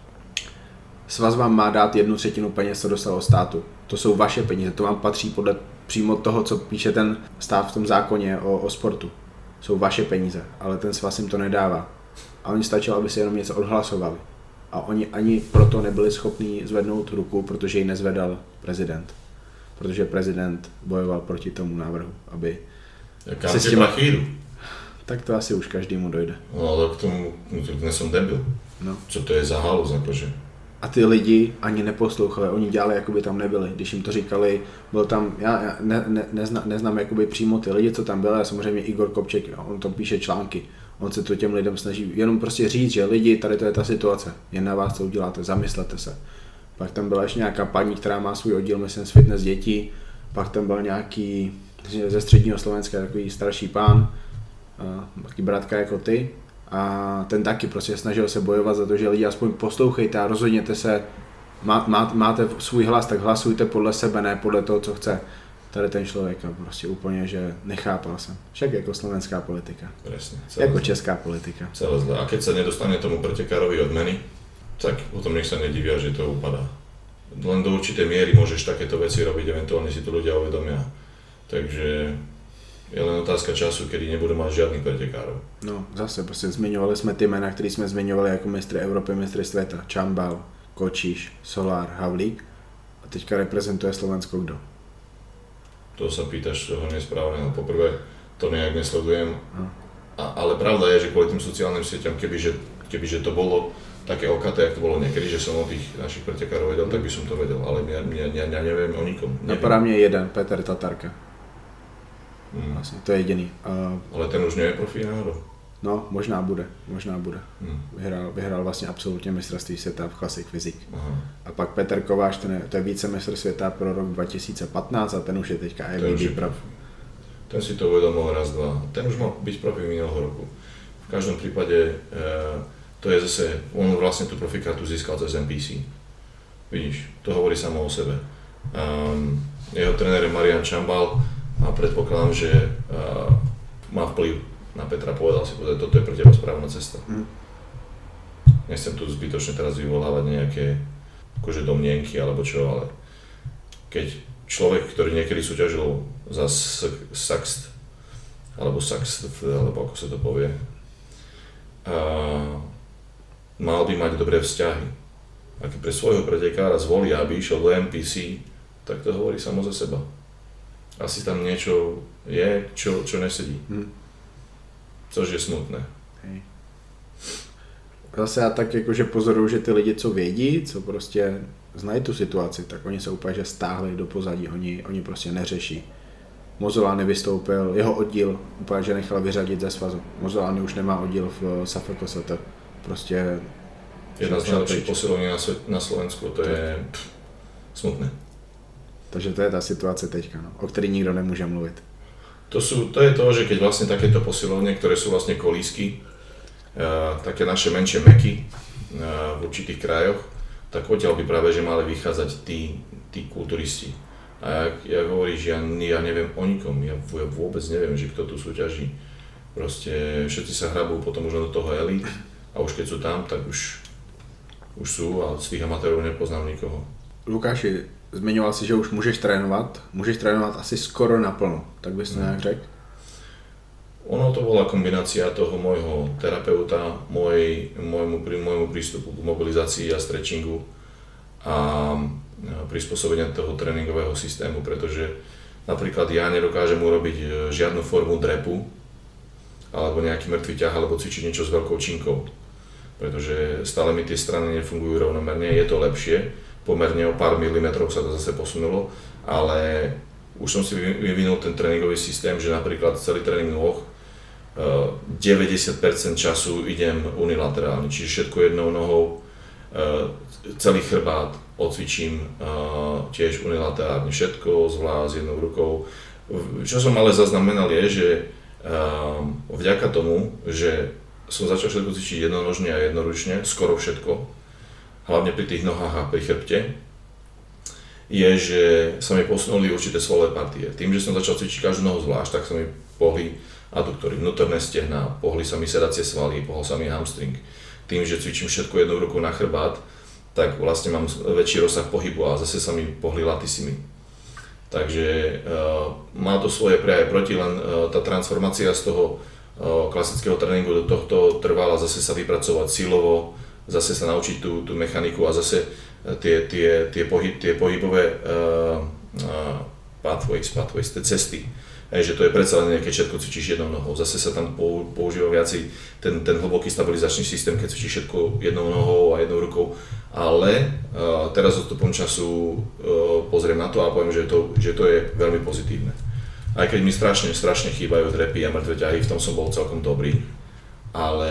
svaz vám má dát jednu třetinu peněz, co dostal od státu. To jsou vaše peníze, to vám patří podle přímo toho, co píše ten stát v tom zákoně o, o sportu. Jsou vaše peníze, ale ten svaz jim to nedává. A oni stačilo, aby si jenom něco odhlasovali. A oni ani proto nebyli schopni zvednout ruku, protože ji nezvedal prezident. Protože prezident bojoval proti tomu návrhu, aby Kam se s tím chýru? Tak to asi už každému dojde. No ale k tomu, no to dnes som debil. No. Co to je za halus, jakože? A ty lidi ani neposlouchali, oni dělali, jako by tam nebyli. Když jim to říkali, byl tam, já, já ne, ne, nezna, neznám jakoby přímo ty lidi, co tam byli, a samozřejmě Igor Kopček, on tam píše články. On se to těm lidem snaží jenom prostě říct, že lidi, tady to je ta situace, jen na vás to uděláte, zamyslete se. Pak tam byla ještě nějaká paní, která má svůj oddíl, myslím, z fitness dětí, pak tam byl nějaký ze středního Slovenska takový starší pán, taky bratka jako ty, a ten taky prostě snažil se bojovat za to, že lidi aspoň poslouchejte a rozhodněte se, má, má, máte svůj hlas, tak hlasujte podle sebe, ne podle toho, co chce. Tady ten člověk prostě úplně, že nechápal jsem. Však jako slovenská politika. Presne. Jako zle. česká politika. Celé zle. A keď sa nedostane tomu pretekárovi odmeny, tak potom nech sa nedivia, že to upadá. Len do určitej miery môžeš takéto veci robiť, eventuálne si to ľudia uvedomia. Takže je len otázka času, kedy nebudú mať žiadnych pretekárov. No, zase prostě zmiňovali jsme ty jména, které jsme zmiňovali jako mistry Evropy, mistry světa. Čambal, Kočíš, Solár, Havlík. A teďka reprezentuje Slovensko kdo? To sa pýtaš toho nesprávne, no poprvé to nejak nesledujem, a, ale pravda je, že kvôli tým sociálnym sieťam, kebyže, kebyže to bolo také okaté, jak to bolo niekedy, že som o tých našich pretekárov vedel, tak by som to vedel, ale ja, ja, ja, ja neviem o nikom. Napadá mě jeden, Petr Tatarka. Hmm. Vlastně, to je jediný. Uh, ale ten už nie je profí náhodou. No, možná bude, možná bude. Hmm. Vyhrál, vyhrál vlastně absolutně mistrovství světa v Classic Physique. Aha. A pak Petr Kováč, ten je, to je vícemistr světa pro rok dva tisíce patnáct a ten už je teďka I B B prof. Ten si to uvedomil raz, dva. Ten už mal byť profi minulého roku. V každom prípade e, to je zase, on vlastne tú profikátu získal cez N P C. Vidíš, to hovorí samo o sebe. Um, jeho tréner je Marian Čambal a predpokladám, že uh, má vplyv na Petra, povedal si, že toto je pre teba správna cesta. Mm. Nechcem tu zbytočne teraz vyvolávať nejaké akože domnienky alebo čo, ale keď človek, ktorý niekedy súťažil za Saxt, alebo Saxt, alebo ako sa to povie, uh, mal by mať dobré vzťahy. A keď pre svojho pretekára zvolí, aby išiel do N P C, tak to hovorí samo za seba. Asi tam niečo je, čo, čo nesedí. Hmm. Což je smutné. Hej. Zase já tak jakože pozoruju, že ty lidi, co vědí, co prostě znají tu situaci, tak oni se úplně že stáhli do pozadí, oni, oni prostě neřeší. Mozolány vystoupil, jeho oddíl úplně že nechal vyřadit ze svazu. Mozolány už nemá oddíl v S A F K S T. Prostě jedna z najlepších posilovní na, na Slovensku, to je pff, smutné. Takže to je ta situace teďka, no, o který nikdo nemůže mluvit. To, sú, to je to, že keď vlastne takéto posilovne, ktoré sú vlastne kolísky, uh, také naše menšie meky uh, v určitých krajoch, tak odtiaľ by práve že mali vychádzať tí, tí kulturisti. A jak, jak hovoríš, ja, ja neviem o nikom, ja, ja vôbec neviem, že kto tu súťaží. Proste všetci sa hrabú potom už do toho elite a už keď sú tam, tak už, už sú a z tých amatérov nepoznám nikoho. Lukáši, zmiňoval si, že už můžeš trénovat, můžeš trénovat asi skoro naplno, tak bys to nějak řekl? Ono to bola kombinácia toho môjho terapeuta, môj, môjmu, môjmu prístupu k mobilizácii a stretchingu a prispôsobenia toho tréningového systému, pretože napríklad ja nedokážem urobiť žiadnu formu drepu alebo nejaký mŕtvý ťah alebo cvičiť niečo s veľkou činkou, pretože stále mi tie strany nefungujú rovnomerne, je to lepšie, pomerne o pár milimetrov sa to zase posunulo, ale už som si vyvinul ten tréningový systém, že napríklad celý tréning nôh deväťdesiat percent času idem unilaterálne, čiže všetko jednou nohou, celý chrbát odcvičím tiež unilaterálne, všetko zvlášť s jednou rukou. Čo som ale zaznamenal je, že vďaka tomu, že som začal všetko cvičiť jednonožne a jednoručne, skoro všetko, hlavne pri tých nohách a pri chrbte, je, že sa mi posunuli určité svalové partie. Tým, že som začal cvičiť každú nohu zvlášť, tak sa mi pohli aduktory, vnútorné stehná, pohli sa mi sedacie svaly, pohol sa mi hamstring. Tým, že cvičím všetko jednou rukou na chrbát, tak vlastne mám väčší rozsah pohybu a zase sa mi pohli latisimy. Takže uh, má to svoje pre aj proti, len uh, tá transformácia z toho uh, klasického tréningu do tohto trvala zase sa vypracovať silovo, zase sa naučiť tú, tú mechaniku a zase uh, tie, tie, tie, pohyb, tie pohybové uh, uh, pathways, pathways, tie cesty. Hej, že to je predsa len, keď všetko cvičíš jednou nohou. Zase sa tam používa viacej ten, ten hlboký stabilizačný systém, keď cvičíš všetko jednou nohou a jednou rukou. Ale uh, teraz odstupom času uh, pozriem na to a poviem, že to, že to je veľmi pozitívne. Aj keď mi strašne, strašne chýbajú drepy a mŕtve ťahy, v tom som bol celkom dobrý. Ale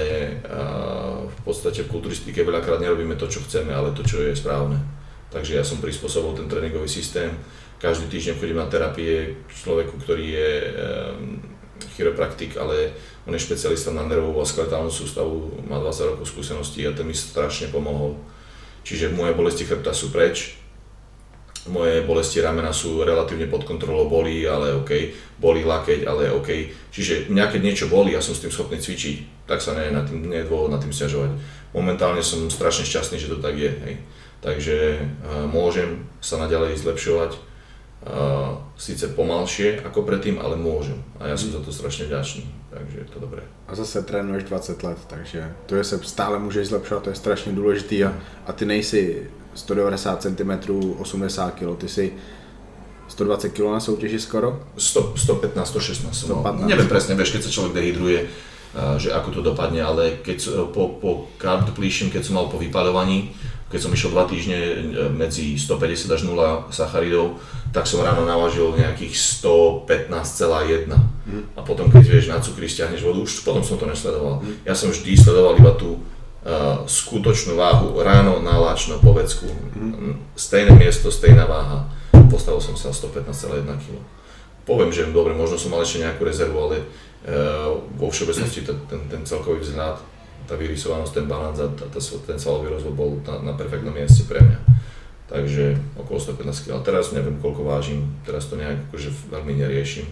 uh, v podstate v kulturistike veľakrát nerobíme to, čo chceme, ale to, čo je správne. Takže ja som prispôsobil ten tréningový systém. Každý týždeň chodím na terapie k človeku, ktorý je um, chiropraktik, ale on je špecialista na nervovú a skeletálnu sústavu, má dvadsať rokov skúseností a ten mi strašne pomohol. Čiže moje bolesti chrbta sú preč, moje bolesti ramena sú relatívne pod kontrolou, bolí, ale OK, bolí lakeť, ale OK. Čiže mňa keď niečo bolí a som s tým schopný cvičiť, tak sa nie, na tým, nie je dôvod na tým sťažovať. Momentálne som strašne šťastný, že to tak je. Hej. Takže uh, môžem sa naďalej zlepšovať. Uh, síce pomalšie ako predtým, ale môžem a ja som za to strašne vďačný, takže je to dobré. A zase trénuješ dvacet let, takže to, že se stále můžeš zlepšovat, to je strašně důležitý a, a ty nejsi sto devadesát centimetrů, osmdesát kilogramů, ty si sto dvacet kilogramů na soutěži skoro? sto, sto pätnásť, sto šestnásť, sto pätnásť. No, neviem presne, vieš, keď sa človek dehydruje, uh, že ako to dopadne, ale keď po, po carb depletion, keď som mal po vypaľovaní, keď som išiel dva týždne medzi stopäťdesiat až nula sacharidov, tak som ráno navážil nejakých sto pätnásť celá jedna. Mm. A potom keď vieš na cukry stiahneš vodu, už potom som to nesledoval. Mm. Ja som vždy sledoval iba tú uh, skutočnú váhu, ráno naláčno po vecku. Mm. Stejné miesto, stejná váha. Postavil som sa sto pätnásť celá jedna kilogramov. Poviem, že dobre, možno som mal ešte nejakú rezervu, ale uh, vo všeobecnosti ten, ten, ten celkový vzhľad, tá vyrysovanosť, ten balans a ten svalový rozvoj bol na, na perfektnom mieste pre mňa. Takže okolo sto pätnásť kilogramov. Teraz neviem, koľko vážim, teraz to nejak akože veľmi neriešim.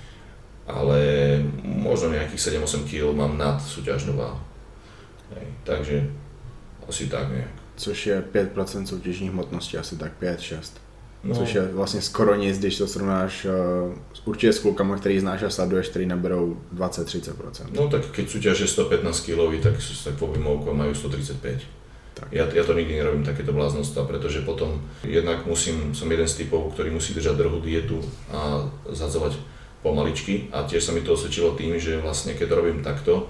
Ale možno nejakých sedem osem kilogramov mám nad súťažnú váhu. Hej, takže asi tak nejak. Což je päť percent soutěžní hmotnosti, asi tak päť šesť. No. Což je vlastně skoro nic, když to srovnáš uh, určitě s klukama, který znáš a sleduješ, který naberou dvadsať až tridsať percent. No tak keď súťaže sto pätnásť kilogramov, tak, tak po výmovku majú sto tridsaťpäť. Tak. Ja, ja to nikdy nerobím takéto bláznostva, pretože potom jednak musím, som jeden z typov, ktorý musí držať drahú dietu a zhadzovať pomaličky a tiež sa mi to osvedčilo tým, že vlastne keď to robím takto,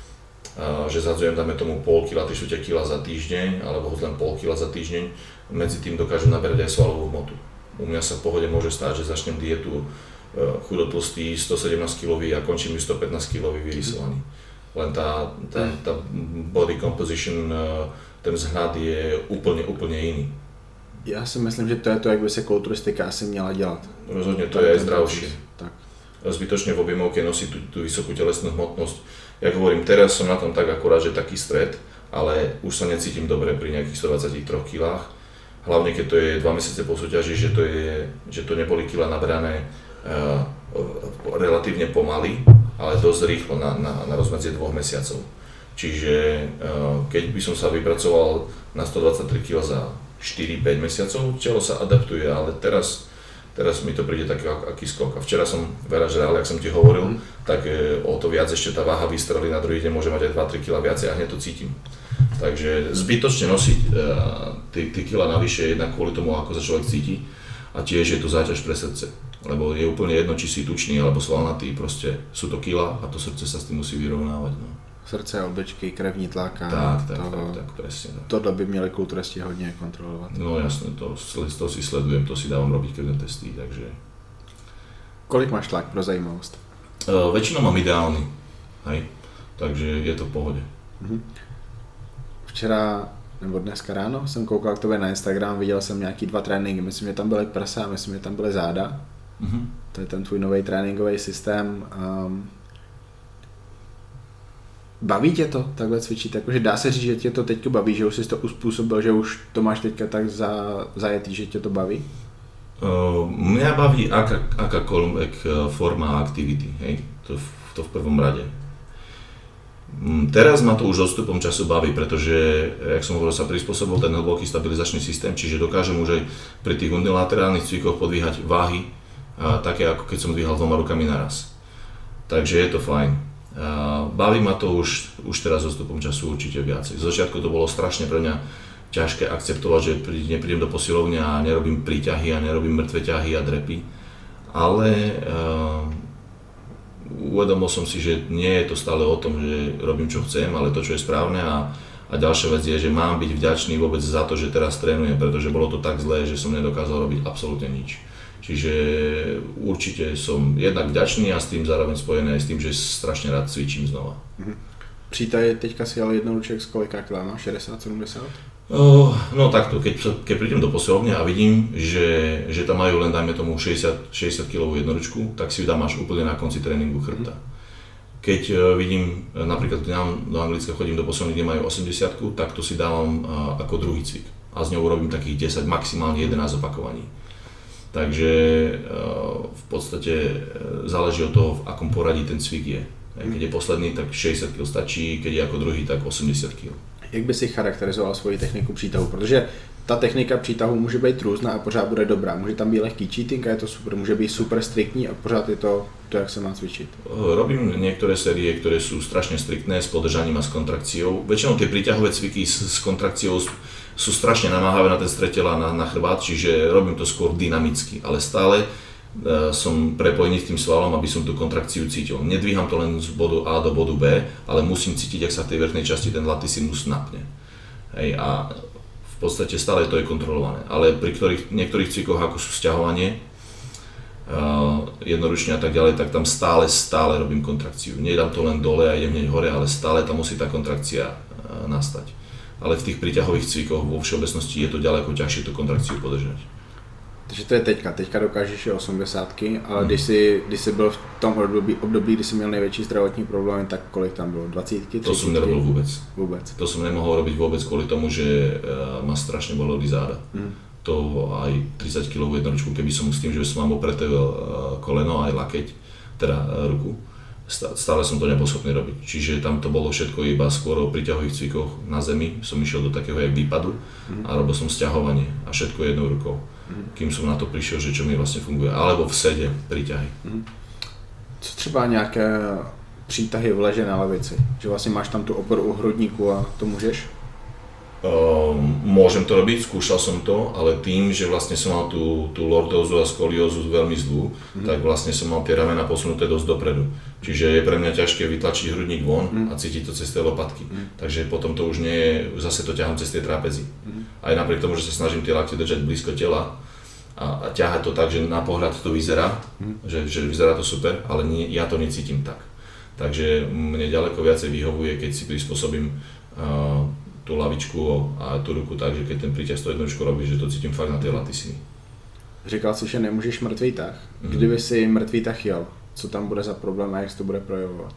a, že zhadzujem dáme tomu pol kila, tri štvrte kila za týždeň alebo len pol kila za týždeň, medzi tým dokážem naberať aj svalovú hmotu. U mňa sa v pohode môže stáť, že začnem dietu chudotlstý, sto sedemnásť kilový a končím ju sto pätnásť kilový vyrysovaný. Len tá, tá, tá body composition, ten vzhľad je úplne, úplne iný. Já si myslím, že to je to, jak by se kulturistika asi měla dělat. Rozhodne to je aj zdravšie. Tak. Zbytočne v objemovke nosí tú, tú vysokú telesnú hmotnosť. Ja hovorím, teraz som na tom tak akurát, že taký stred, ale už sa necítim dobre pri nejakých stodvadsiatich troch kilách. Hlavne keď to je dva mesiace po súťaži, že to, je, že to neboli kila nabrané uh, relatívne pomaly, ale dosť rýchlo na, na, na rozmedzie dvoch mesiacov. Čiže uh, keď by som sa vypracoval na stodvadsaťtri kilogramov za štyri päť mesiacov, telo sa adaptuje, ale teraz, teraz mi to príde taký aký skok. A včera som veľa žral, jak som ti hovoril, mm. tak uh, o to viac ešte tá váha vystrelí, na druhý deň môže mať aj dva tri kilogramá viacej a hneď to cítim. Takže zbytočne nosiť uh, tie kila navyše jednak kvôli tomu, ako sa človek cíti a tiež je to záťaž pre srdce, lebo je úplne jedno, či si tučný alebo svalnatý, proste sú to kila a to srdce sa s tým musí vyrovnávať. No. Srdce, obličky, krevní tlak a tak, tak, to, tak, tak, presne tak. Tohle by měli kulturisti hodně kontrolovat. No jasne, to, to si sledujem, to si dávam robiť krevné testy, takže... Kolik máš tlak pro zajímavost? Uh, väčšinou mám ideálny, hej, takže je to v pohode. Mhm. Včera, nebo dneska ráno jsem koukal k tobě na Instagram, viděl jsem nějaký dva tréninky, myslím, že tam byly prsa a myslím, že tam byly záda. Mm-hmm. To je ten tvůj nový tréninkový systém. Um, baví tě to takhle cvičit? Jakože dá se říct, že tě to teďka baví, že už jsi to uspůsobil, že už to máš teďka tak za, zajetý, že tě to baví? Uh, mňa baví aká, akákoľvek forma aktivity, hej. To v to v prvom rade. Teraz ma to už odstupom času baví, pretože, jak som hovoril, sa prispôsobil ten hlboký stabilizačný systém, čiže dokážem už aj pri tých unilaterálnych cvikoch podvíhať váhy, a také ako keď som dvíhal dvoma rukami naraz. Takže je to fajn. A baví ma to už, už teraz odstupom času určite viacej. Z začiatku to bolo strašne pre mňa ťažké akceptovať, že neprídem do posilovne a nerobím príťahy a nerobím mŕtve ťahy a drepy, ale uh, uvedomil som si, že nie je to stále o tom, že robím čo chcem, ale to, čo je správne a, a ďalšia vec je, že mám byť vďačný vôbec za to, že teraz trénujem, pretože bolo to tak zlé, že som nedokázal robiť absolútne nič. Čiže určite som jednak vďačný a s tým zároveň spojený aj s tým, že strašne rád cvičím znova. Mhm. Přítaj, teďka si ale jednoduček z kolika kilá máš? šedesát sedemdesát? Oh, no takto, keď, keď prídem do posilovne a vidím, že, že tam majú len dajme tomu šesťdesiat, šesťdesiat kilovú jednoručku, tak si ju dám až úplne na konci tréningu chrbta. Keď uh, vidím, napríklad do Anglicka chodím do posilovne, kde majú osemdesiatku, tak to si dávam uh, ako druhý cvik a z ňou urobím takých desať, maximálne jedenásť opakovaní. Takže uh, v podstate uh, záleží od toho, v akom poradí ten cvik je. Keď je posledný, tak šedesát kilogramů stačí, keď je ako druhý, tak osemdesiat kilogramů. Jak by si charakterizoval svoji techniku přítahu? Protože ta technika přítahu může být různá a pořád bude dobrá. Může tam být lehký cheating a je to super, může být super striktní a pořád je to, to jak se má cvičit. Robím niektoré série, ktoré sú strašne striktné s podržaním a s kontrakciou. Väčšinou tie príťahové cviky s, s kontrakciou sú strašne namáhavé na ten stred tela, na, na chrbát, čiže robím to skôr dynamicky, ale stále uh, som prepojený s tým svalom, aby som tú kontrakciu cítil. Nedvíham to len z bodu A do bodu B, ale musím cítiť, ak sa v tej vrchnej časti ten latissimus napne. Hej, a v podstate stále to je kontrolované, ale pri ktorých, niektorých cvikoch, ako sú sťahovanie, uh, jednoručne a tak ďalej, tak tam stále, stále robím kontrakciu. Nedám to len dole a idem hneď hore, ale stále tam musí tá kontrakcia uh, nastať. Ale v tých príťahových cvikoch vo všeobecnosti je to ďaleko ťažšie tú kontrakciu podržať. Takže to je teďka, teďka dokážeš je osmdesátky, ale hmm. když, jsi, když jsi byl v tom období, období, kdy jsi měl největší zdravotní problémy, tak kolik tam bylo? dvacítky? To som nerobil vôbec. Vôbec. To som nemohol robiť vôbec kvôli tomu, že uh, ma strašne boleli záda. Hmm. To aj tridsať kilovú jednoručku, keby som s tým, že som mám opreté uh, koleno aj lakeť, teda uh, ruku, stále som to nebol schopný robiť. Čiže tam to bolo všetko iba skôr o príťahových cvikoch na zemi, som išiel do takého jak výpadu hmm. a robil som sťahovanie a všetko jednou rukou. Kým som na to prišiel, že čo mi vlastne funguje, alebo v sede príťahy. Co třeba nějaké přítahy v leže na levici? Že vlastně máš tam tu oporu u hrudníku a to můžeš? Uh, môžem to robiť, skúšal som to, ale tým, že vlastne som mal tú, tú lordózu a skoliózu veľmi zlú, mm. tak vlastne som mal tie ramena posunuté dosť dopredu. Čiže je pre mňa ťažké vytlačiť hrudník von mm. a cítiť to cez tie lopatky. Mm. Takže potom to už nie je, zase to ťahám cez tie trapezy. Mm. Aj napriek tomu, že sa snažím tie lakte držať blízko tela a, a ťahať to tak, že na pohľad to vyzerá, mm. že, že vyzerá to super, ale nie, ja to necítim tak. Takže mne ďaleko viacej vyhovuje, keď si prispôsobím uh, tú lavičku a tú ruku tak, že keď ten príťah sto jednočku robí, že to cítím fakt na tej latisiny. Říkal si, že nemůžeš mrtvý tah. Kdyby si mrtvý tah jel, co tam bude za problém a jak se to bude projevovat?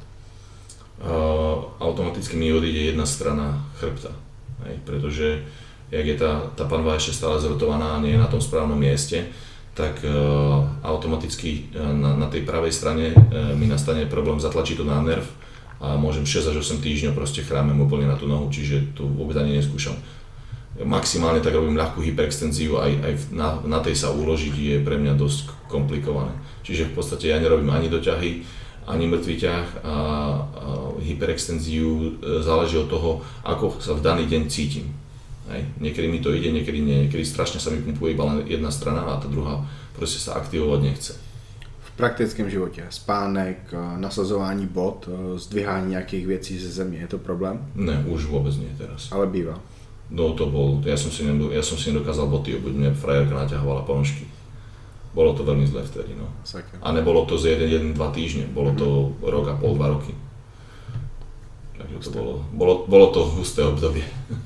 Uh, automaticky mi odíde jedna strana chrbta, hej, pretože jak je tá, tá panva ešte stále zrotovaná a nie je na tom správnom mieste, tak uh, automaticky uh, na, na tej pravej strane uh, mi nastane problém zatlačiť to na nerv a môžem šesť až osem týždňov proste chrámem úplne na tú nohu, čiže to vôbec ani neskúšam. Maximálne tak robím ľahkú hyperextenziu, aj, aj na, na tej sa uložiť je pre mňa dosť komplikované. Čiže v podstate ja nerobím ani doťahy, ani mŕtvý ťah a, a hyperextenziu záleží od toho, ako sa v daný deň cítim. Hej. Niekedy mi to ide, niekedy nie, niekedy strašne sa mi pumpuje iba len jedna strana a tá druhá proste sa aktivovať nechce. V praktickém životě, spánek, nasazování bod, zdvihání nějakých věcí ze země, je to problém? Ne, už vôbec nie teraz. Ale býva. No to bol, ja som si, nedo, ja som si nedokázal boty obuť, mňa frajerka naťahovala ponožky. Bolo to veľmi zle vtedy, no. Saker. A nebolo to z jeden, jeden, dva týždne, bolo to mm-hmm. rok a pol, dva roky. Takže to bolo, bolo, bolo to husté obdobie.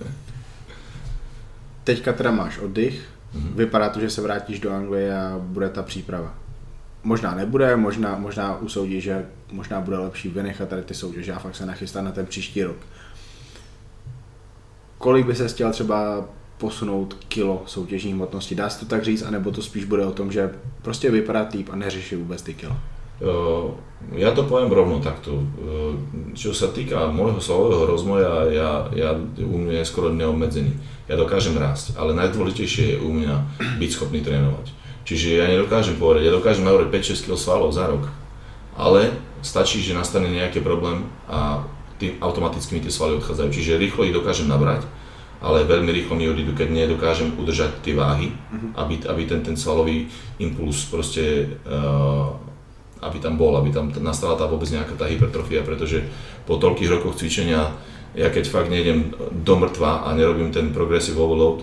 Teďka teda máš oddych, mm-hmm. vypadá to, že se vrátíš do Anglie a bude ta příprava. Možná nebude, možná, možná usoudí, že možná bude lepší vynechat tady ty soutěže a fakt se nachystat na ten příští rok. Kolik by se chtěl třeba posunout kilo soutěžní hmotnosti? Dá se to tak říct, anebo to spíš bude o tom, že prostě vypadá týp a neřeší vůbec ty kilo? Ja to poviem rovno takto. Čo sa týka môjho svalového rozmoja, ja, ja u mňa je skoro neobmedzený. Ja dokážem rásť, ale najdôležitejšie je u mňa byť schopný trénovať. Čiže ja nedokážem povedať, ja dokážem navrieť päť šesť kilogramov svalov za rok, ale stačí, že nastane nejaký problém a tým automaticky mi tie svaly odchádzajú. Čiže rýchlo ich dokážem nabrať, ale veľmi rýchlo mi odídu, keď nedokážem udržať tie váhy, uh-huh. aby, aby ten, ten svalový impuls proste, uh, aby tam bol, aby tam nastala tá vôbec nejaká tá hypertrofia, pretože po toľkých rokoch cvičenia, ja keď fakt nejdem do mŕtva a nerobím ten progressive overload,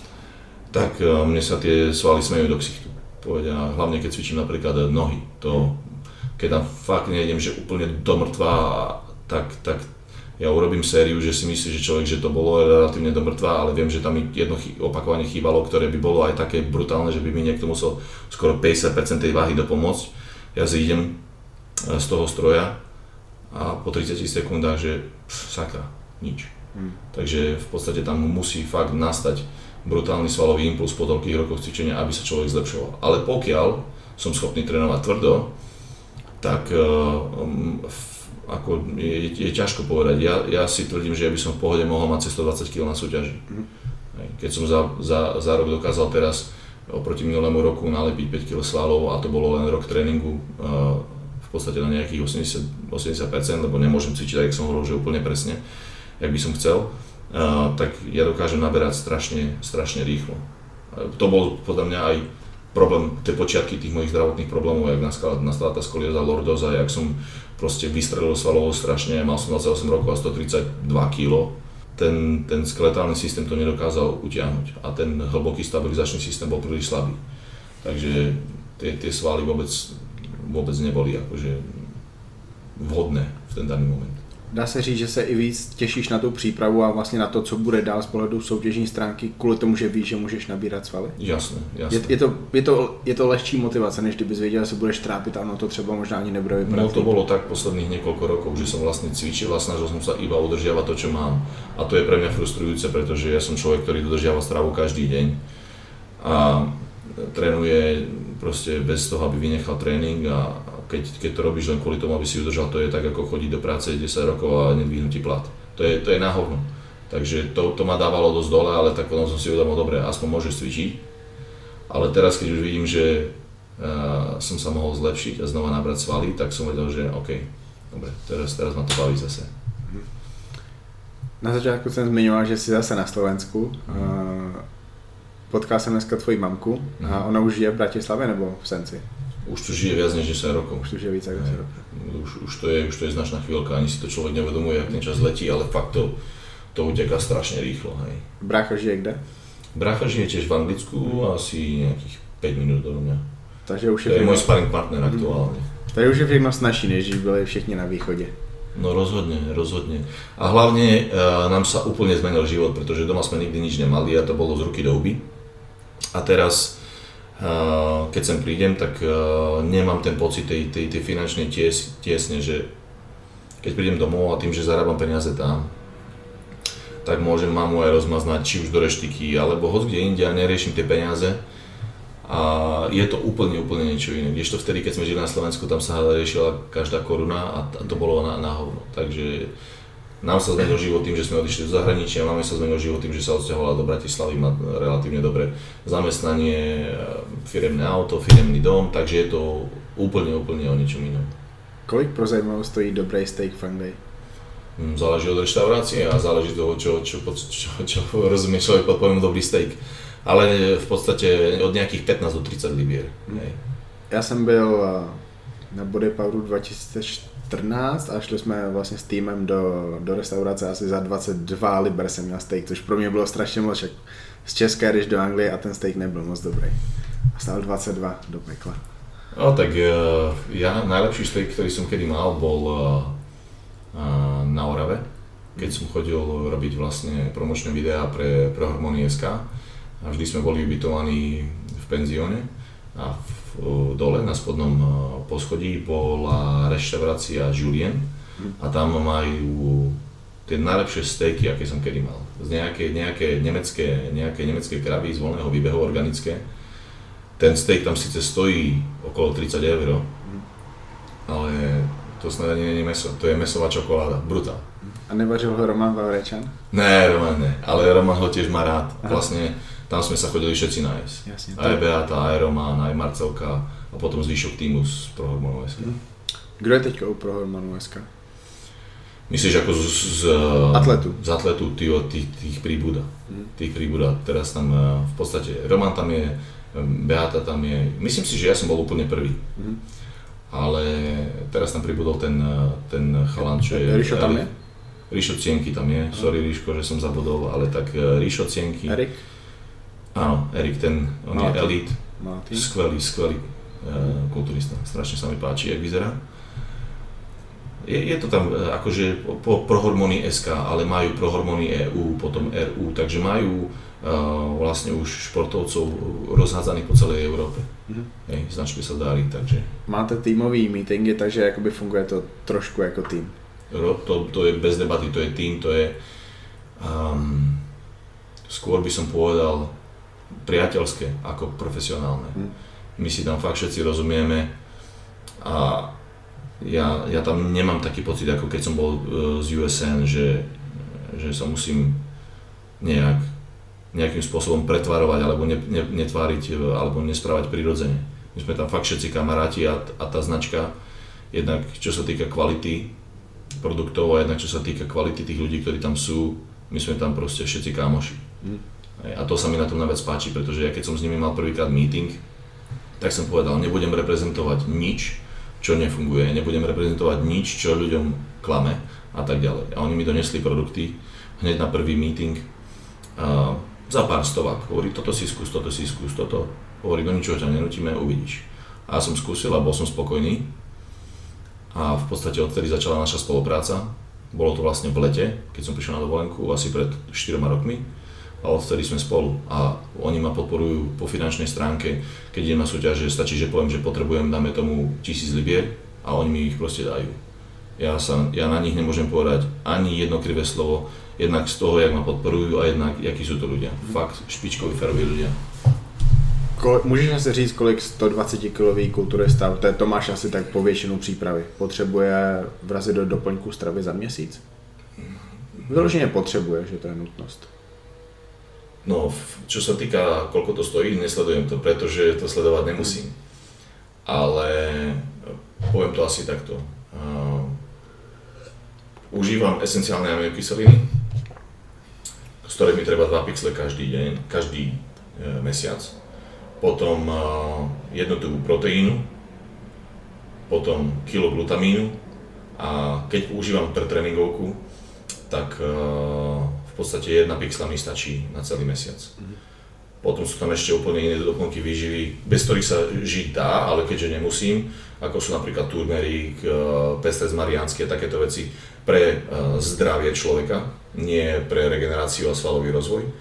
tak uh, mne sa tie svaly smejú do ksichtu. Povedia, hlavne keď cvičím napríklad nohy, to, keď tam fakt nejdem, že úplne do mŕtva, tak, tak ja urobím sériu, že si myslí, že človek, že to bolo relatívne do mŕtva, ale viem, že tam mi jedno opakovanie chýbalo, ktoré by bolo aj také brutálne, že by mi niekto musel skoro päťdesiat percent tej váhy dopomôcť. Ja zídem z toho stroja a po tridsiatich sekundách, že pš, sakra, nič. Hmm. Takže v podstate tam musí fakt nastať brutálny svalový impuls po toľkých rokoch cvičenia, aby sa človek zlepšoval. Ale pokiaľ som schopný trénovať tvrdo, tak um, ako je, je ťažko povedať. Ja, ja si tvrdím, že ja by som v pohode mohol mať cez stodvadsať kilogramov na súťaži. Mm. Keď som za, za, za rok dokázal teraz oproti minulému roku nalepiť päť kilogramov svalov a to bolo len rok tréningu uh, v podstate na nejakých osemdesiat, osemdesiat percent, lebo nemôžem cvičiť, tak som hovoril, že úplne presne, jak by som chcel, uh, tak ja dokážem naberať strašne, strašne rýchlo. Uh, to bol podľa mňa aj problém, tie počiatky tých mojich zdravotných problémov, jak nastala tá skolióza, lordóza, jak som proste vystrelil svalovo strašne, mal som dvadsaťosem rokov a stotridsaťdva kilogramov. Ten, ten skeletálny systém to nedokázal utiahnuť a ten hlboký stabilizačný systém bol príliš slabý. Takže tie, tie svaly vôbec, vôbec neboli akože vhodné v ten daný moment. Dá se říct, že se i víc těšíš na tu přípravu a vlastně na to, co bude dál z pohledu soutěžní stránky, kvůli tomu, že víš, že můžeš nabírat svaly? Jasné, jasné. Je, je, to, je, to, je to lehčí motivace, než kdybys věděl, že se budeš trápit a ono to třeba možná ani nebude vypadat. No to bolo tak posledných niekoľko rokov, že som vlastne cvičil a snažil som sa iba udržiavať to, čo mám. A to je pre mňa frustrujúce, pretože ja som človek, ktorý dodržiava stravu každý deň a trénuje proste bez toho, aby vynechal tréning a Keď, keď to robíš len kvôli tomu, aby si udržal, to je tak ako chodiť do práce desať rokov a nedvihnutý plat. To je, to je na hovno. Takže to, to ma dávalo dosť dole, ale tak potom som si uvedomil, dobre, aspoň môžeš cvičiť. Ale teraz, keď už vidím, že uh, som sa mohol zlepšiť a znova nabrať svaly, tak som vedel, že OK, dobre, teraz, teraz ma to baví zase. Na začátku jsem zmiňoval, že jsi zase na Slovensku. Uh, potkal jsem dneska tvoji mamku a ona už žije v Bratislavě nebo v Senci? Už tu žije viac než desať rokov. Už tu žije víc ako desať rokov. Už, už, to je, už to je značná chvíľka, ani si to človek nevedomuje, jak ten čas letí, ale fakt to, to uteká strašne rýchlo. Hej. Brácha žije kde? Brácha žije tiež v Anglicku, hmm. asi nejakých päť minút do mňa. Takže už je, to je môj sparring partner hmm. aktuálne. Takže už je všechno snažší, než byli všichni na východe. No rozhodne, rozhodne. A hlavne e, nám sa úplne zmenil život, pretože doma sme nikdy nič nemali a to bolo z ruky do huby. A teraz Uh, keď sem prídem, tak uh, nemám ten pocit tej, tej, tej finančnej ties, tiesne, že keď prídem domov a tým, že zarábam peniaze tam, tak môžem mamu aj rozmaznať či už do reštiky, alebo hoď kde inde a neriešim tie peniaze. A je to úplne, úplne niečo iné. Kdežto vtedy, keď sme žili na Slovensku, tam sa riešila každá koruna a to bolo na, na hovno. Takže nám sa zmenil život tým, že sme odišli do zahraničia, máme sa zmenil život tým, že sa odsťahovala do Bratislavy, má relatívne dobré zamestnanie, firemné auto, firemný dom, takže je to úplne, úplne o niečom inom. Kolik pro zajímavosť stojí dobrý steak Funday? Záleží od reštaurácie a záleží toho, čo, čo, čo, čo, čo rozumie človek pod pojmom dobrý steak. Ale v podstate od nejakých pätnásť do tridsať libier. Hej. Já jsem byl na Body Poweru dva tisíce čtrnáct a šli jsme vlastně s týmem do, do restaurace asi za dvacet dva liber jsem měl steak, což pro mě bylo strašně moc, však z České jdeš do Anglie a ten steak nebyl moc dobrý. A stál dvacet dva do pekla. No tak ja najlepší steak, ktorý som kedy mal, bol na Orave, keď som chodil robiť vlastne promočné videá pre, pre Hormóny bodka es ká a vždy sme boli ubytovaní v penzióne a v, dole na spodnom poschodí bola reštaurácia Julien a tam majú tie najlepšie steaky, aké som kedy mal. Z nejaké, nejaké, nemecké, nejaké nemecké kravy z voľného výbehu organické. Ten steak tam síce stojí okolo tridsať eur, ale to snad ani nie je meso, to je mesová čokoláda, brutál. A nevařil ho Roman Vavrečan? Ne, Roman ne, ale Roman ho tiež má rád. Aha. Vlastne tam sme sa chodili všetci nájsť. Jasne, aj Beata, aj Roman, aj Marcelka a potom zvyšok týmu z Prohormonu es ká. Mhm. Kdo je teďka u Prohormonu es ká? Myslíš ako z, z atletu? Z atletu, tých, tých, tých príbuda. Mm. Tých príbuda. Teraz tam v podstate Roman tam je, Beata tam je. Myslím si, že ja som bol úplne prvý. Mm. Ale teraz tam pribudol ten, ten chalan, čo je... Ríšo tam je? Ríšo Cienky tam je. Sorry Ríško, že som zabudol, ale tak Ríšo Cienky. Erik? Áno, Erik, ten, on Maltin. Je elite. Maltin. Skvelý, skvelý uh, kulturista. Strašne sa mi páči, jak vyzerá. Je, je to tam akože po Prohormony es ká, ale majú Prohormony é ú, potom er ú, takže majú uh, vlastne už športovcov rozhádzaných po celej Európe. Mm-hmm. Hej, značke sa darí, takže... Máte týmový meetingy, takže jakoby funguje to trošku jako tým. To, to je bez debaty, to je tým, to je... Um, skôr by som povedal priateľské ako profesionálne. Mm. My si tam fakt všetci rozumieme a Ja, ja tam nemám taký pocit, ako keď som bol z ú es en, že, že sa musím nejak, nejakým spôsobom pretvarovať alebo ne, ne, netváriť alebo nesprávať prirodzene. My sme tam fakt všetci kamaráti a, a tá značka, jednak čo sa týka kvality produktov a jednak čo sa týka kvality tých ľudí, ktorí tam sú, my sme tam proste všetci kámoši. Mm. A to sa mi na tom najviac páči, pretože ja keď som s nimi mal prvýkrát meeting, tak som povedal, nebudem reprezentovať nič, čo nefunguje, nebudem reprezentovať nič, čo ľuďom klame a tak ďalej. A oni mi donesli produkty hneď na prvý meeting uh, za pár stovák. Hovorí, toto si skús, toto si skús, toto. Hovorí, do ničoho ťa nenutíme, uvidíš. A ja som skúsil a bol som spokojný. A v podstate odtedy začala naša spolupráca. Bolo to vlastne v lete, keď som prišiel na dovolenku, asi pred štyroma rokmi. A odtedy sme spolu a oni ma podporujú po finančnej stránke, keď idem na súťaže, stačí, že poviem, že potrebujem, dáme tomu tisíc libier a oni mi ich proste dajú. Ja, sa, ja na nich nemôžem povedať ani jedno krivé slovo, jednak z toho, jak ma podporujú a jednak, jakí sú to ľudia. Fakt špičkoví, féroví ľudia. Kole, můžeš si říct, kolik sto dvacet kilový kulturista, to je Tomáš asi tak po většinu přípravy, potřebuje vrazit do doplňku stravy za měsíc? Vyloženě potřebuje, že to je nutnost. No, čo sa týka, koľko to stojí, nesledujem to, pretože to sledovať nemusím. Ale poviem to asi takto. Uh, užívam esenciálne aminokyseliny, z ktorých mi treba dva pixle každý deň, každý uh, mesiac. Potom uh, jednu tubu proteínu, potom kilo glutamínu a keď používam pre tréningovku, tak uh, v podstate jedna pixla mi stačí na celý mesiac. Mm. Potom sú tam ešte úplne iné doplnky výživy, bez ktorých sa žiť dá, ale keďže nemusím, ako sú napríklad turmerík, pestrec mariánsky a takéto veci pre zdravie človeka, nie pre regeneráciu a svalový rozvoj,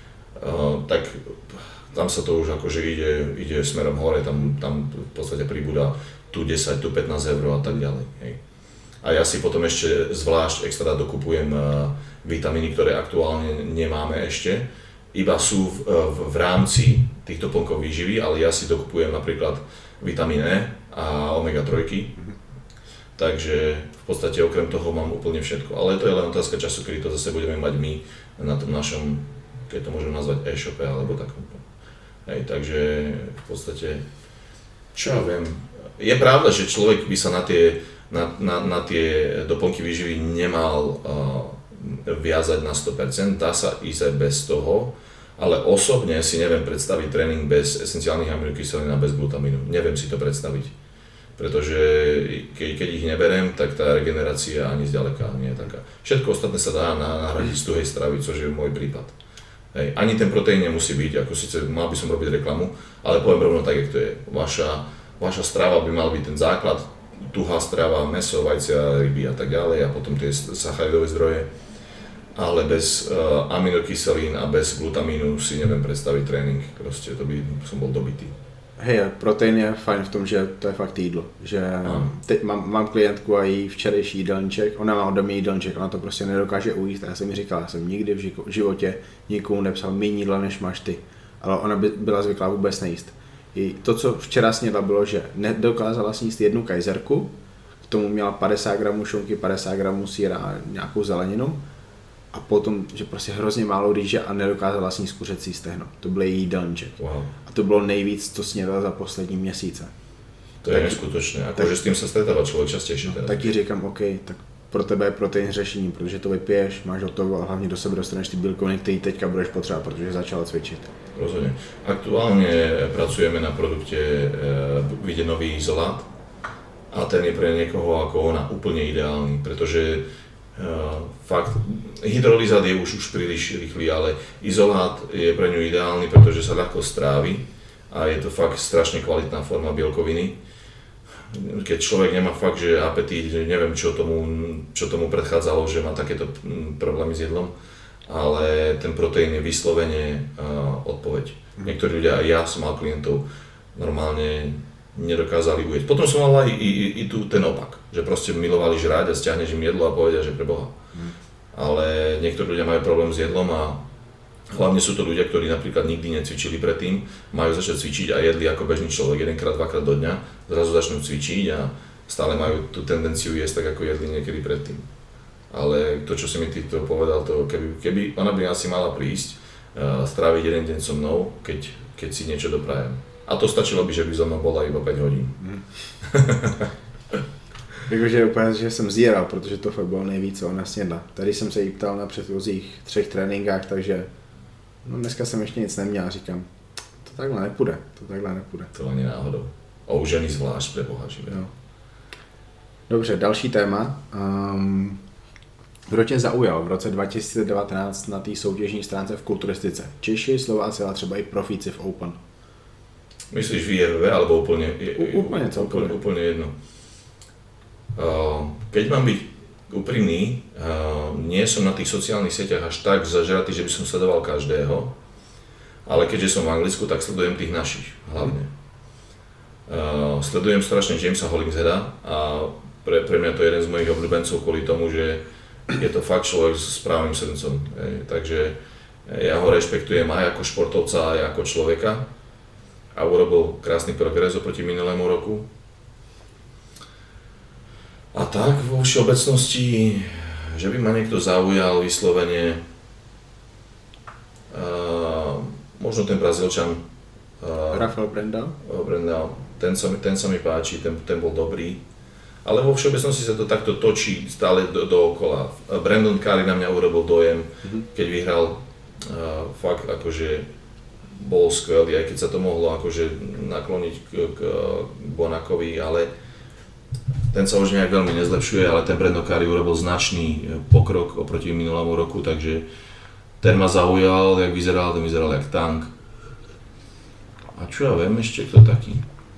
tak tam sa to už akože ide, ide smerom hore, tam, tam v podstate pribúda tu desať, tu pätnásť eur a tak ďalej. Hej. A ja si potom ešte zvlášť extra dokupujem vitamíny, ktoré aktuálne nemáme ešte, iba sú v, v, v rámci tých doplnkov výživy, ale ja si dokupujem napríklad vitamín E a omega tri. Mm-hmm. Takže v podstate okrem toho mám úplne všetko. Ale to je len otázka času, kedy to zase budeme mať my na tom našom, keď to môžem nazvať e-shope alebo takom. Hej, takže v podstate, čo ja viem, je pravda, že človek by sa na tie, na, na, na tie doplnky výživy nemal uh, viazať na sto percent, dá sa ísť aj bez toho, ale osobne si neviem predstaviť tréning bez esenciálnych aminokyselín a bez glutamínu. Neviem si to predstaviť, pretože keď, keď ich neberiem, tak tá regenerácia ani zďaleka nie je taká. Všetko ostatné sa dá nahradiť z tuhej stravy, což je môj prípad. Hej, ani ten proteín nemusí byť, ako síce mal by som robiť reklamu, ale poviem rovno tak, jak to je. Vaša, vaša strava by mal byť ten základ, tuhá strava, mäso, vajcia, ryby a tak ďalej a potom tie sacharidové zdroje. Ale bez uh, aminokyselín a bez glutamínu si neviem predstaviť trénink, proste to by som bol dobitý. Hej, protein je fajn v tom, že to je fakt jídlo, že teď mám, mám klientku a jí včerejší jídelníček, ona má doma jídelníček, ona to prostě nedokáže ujíst a já jsem mi říkal, já jsem nikdy v životě nikomu nepsal méně jídla než máš ty, ale ona by byla zvyklá vůbec nejíst. I to, co včera snědla, bylo, že nedokázala sníst jednu kajzerku k tomu měla padesát gramů šunky, padesát gramů sýra a nějakou zeleninu. A potom, že prostě hrozně málo rýže a nedokázala sníst kuřecí stehno. To byl její jídelníček. Wow. A to bylo nejvíc, co snědla za poslední měsíce. To je neskutočné, akože s tým sa stretáva človek častejšie. No, tak ti říkám, OK, tak pro tebe je protein řešení, protože to vypiješ, máš hotovo a hlavně do sebe dostaneš ty bílkoviny, které teďka budeš potřebovat, protože začala cvičit. Rozhodne. Aktuálne pracujeme na produkte e, vyjde nový izolát a ten je pre niekoho ako ona úplne ideálny, pretože e, fakt hydrolizát je už, už príliš rýchly, ale izolát je pre ňu ideálny, pretože sa ľahko strávi a je to fakt strašne kvalitná forma bielkoviny. Keď človek nemá fakt, že apetít, že neviem, čo tomu, čo tomu predchádzalo, že má takéto problémy s jedlom, ale ten proteín je vyslovene uh, odpoveď. Niektorí ľudia, aj ja som mal klientov, normálne nedokázali ujeť. Potom som mal aj i, i, i tu ten opak, že proste milovali žrať a stiahneš im jedlo a povedia, že pre Boha. Mm. Ale niektorí ľudia majú problém s jedlom a hlavne sú to ľudia, ktorí napríklad nikdy necvičili predtým, majú začať cvičiť a jedli ako bežný človek jedenkrát, dvakrát do dňa, zrazu začnú cvičiť a stále majú tú tendenciu jesť tak, ako jedli niekedy predtým. Ale to, čo si mi ty to povedal, to keby, keby ona by asi mala prísť, uh, stráviť jeden deň so mnou, keď, keď si niečo doprajem. A to stačilo by, že by so mnou bola iba päť hodín. Mm. Jakože úplně, že jsem zíral, protože to fakt bylo nejvíc, co ona snědla. Tady jsem se jí ptal na předchozích třech tréninkách, takže no dneska jsem ještě nic neměl a říkám, to takhle nepůjde, to takhle nepůjde. To ani náhodou. A u ženy zvlášť pre Boha živé. No. Dobře, další téma. Um, kdo tě zaujal v roce dva tisíce devatenáct na té soutěžní stránce v kulturistice? Češi, Slováci, ale třeba i profíci v Open. Myslíš v I F B alebo úplne? U, úplne celkově. Úplne, úplne jedno. Uh, keď mám byť úprimný, uh, nie som na tých sociálnych sieťach až tak zažratý, že by som sledoval každého, ale keďže som v Anglicku, tak sledujem tých našich hlavne. Uh, sledujem strašne Jamesa Hollingsheada a pre, pre mňa to je jeden z mojich obľúbencov kvôli tomu, že je to fakt človek s správnym srdcom. Hej. Takže ja ho rešpektujem aj ako športovca, aj ako človeka a urobil krásny progres oproti minulému roku. A tak vo všeobecnosti, že by ma niekto zaujal vyslovene, uh, možno ten Brazílčan uh, Rafael Brandao. Brandao, ten sa mi, ten sa mi páči, ten, ten bol dobrý. Ale vo všeobecnosti sa to takto točí stále do, dookola. Brandon Curry na mňa urobil dojem, mm-hmm. keď vyhral, uh, fakt akože bol skvelý, aj keď sa to mohlo akože nakloniť k, k Bonakovi, ale ten sa už nejak veľmi nezlepšuje, ale ten Brandon Curry urobil značný pokrok oproti minulému roku, takže ten ma zaujal, jak vyzeral, ten vyzeral jak tank. A čo ja viem ešte, kto taký?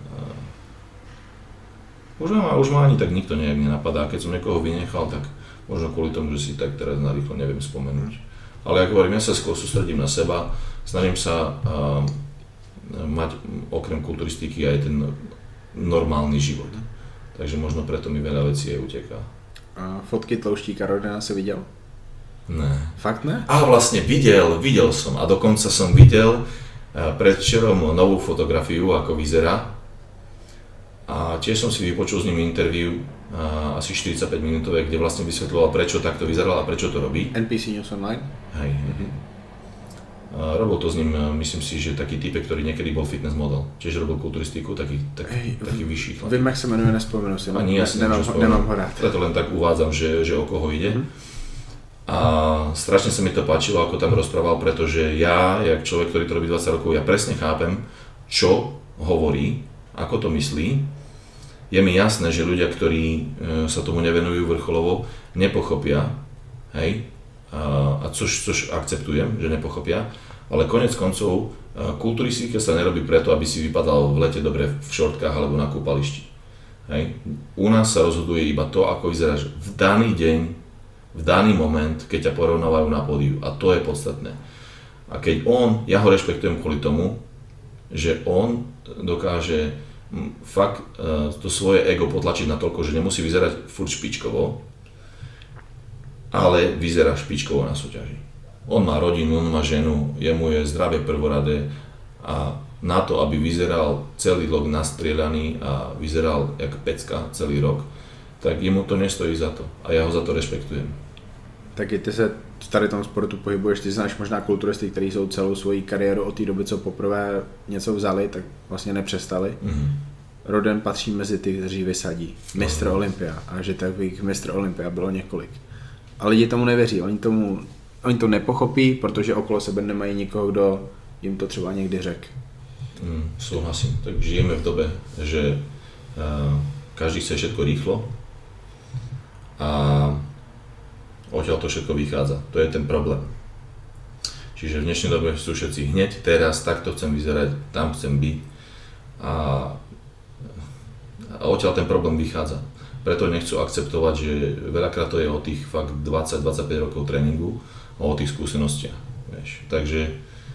Už ma, už ma ani tak nikto nejak nenapadá, keď som niekoho vynechal, tak možno kvôli tomu, že si tak teraz narýchlo neviem spomenúť. Ale ako hovorím, ja sa skôr sústredím na seba, snažím sa uh, mať okrem kulturistiky aj ten normálny život. Takže možno preto mi veľa vecí aj uteká. A fotky Tlouštíka Rodina si videl? Ne. Fakt ne? A vlastne videl, videl som a dokonca som videl uh, predvčerom novú fotografiu, ako vyzerá. A tiež som si vypočul s ním interview, uh, asi štyridsaťpäť minútové, kde vlastne vysvetľoval, prečo takto vyzeral a prečo to robí. N P C News Online? Hej, hej. Mm-hmm. Uh, robil to s ním, uh, myslím si, že taký typek, ktorý niekedy bol fitness model. Tiež robil kulturistiku, taký, taký, hey, taký vyšší chlap. Vím, jak sa menuje, nespomenu si. Ani jasne, nemám, nemám ho rád. Preto len tak uvádzam, že, že o koho ide. Mm-hmm. A strašne sa mi to páčilo, ako tam rozprával, pretože ja, jak človek, ktorý to robí dvadsať rokov, ja presne chápem, čo hovorí, ako to myslí. Je mi jasné, že ľudia, ktorí e, sa tomu nevenujú vrcholovo, nepochopia, hej, a, a což, což akceptujem, že nepochopia, ale konec koncov e, kulturistika sa nerobí preto, aby si vypadal v lete dobre v šortkách alebo na kúpališti. Hej. U nás sa rozhoduje iba to, ako vyzeráš v daný deň, v daný moment, keď ťa porovnávajú na pódiu, a to je podstatné. A keď on, ja ho rešpektujem kvôli tomu, že on dokáže fakt to svoje ego potlačiť natoľko, že nemusí vyzerať furt špičkovo, ale vyzerá špičkovo na súťaži. On má rodinu, on má ženu, jemu je zdravie prvoradé a na to, aby vyzeral celý rok nastrieľaný a vyzeral jak pecka celý rok, tak jemu to nestojí za to a já ho za to respektujem. Taky ty se v tady tom sportu pohybuješ, ty znáš možná kulturisty, kteří jsou celou svoji kariéru od té doby, co poprvé něco vzali, tak vlastně nepřestali. Mm-hmm. Roden patří mezi ty, kteří vysadí mistr no. Olympia a že takových mistr Olympia bylo několik. A lidi tomu nevěří, oni, tomu, oni to nepochopí, protože okolo sebe nemají nikoho, kdo jim to třeba někdy řekl. Mm, souhlasím, tak žijeme v dobe, že uh, každý chce všetko rýchlo a odtiaľ to všetko vychádza. To je ten problém. Čiže v dnešnej dobe sú všetci hneď, teraz, takto chcem vyzerať, tam chcem byť a, a odtiaľ ten problém vychádza. Preto nechcú akceptovať, že veľakrát to je o tých fakt dvadsať až dvadsaťpäť rokov tréningu a o tých skúsenostiach. Vieš. Takže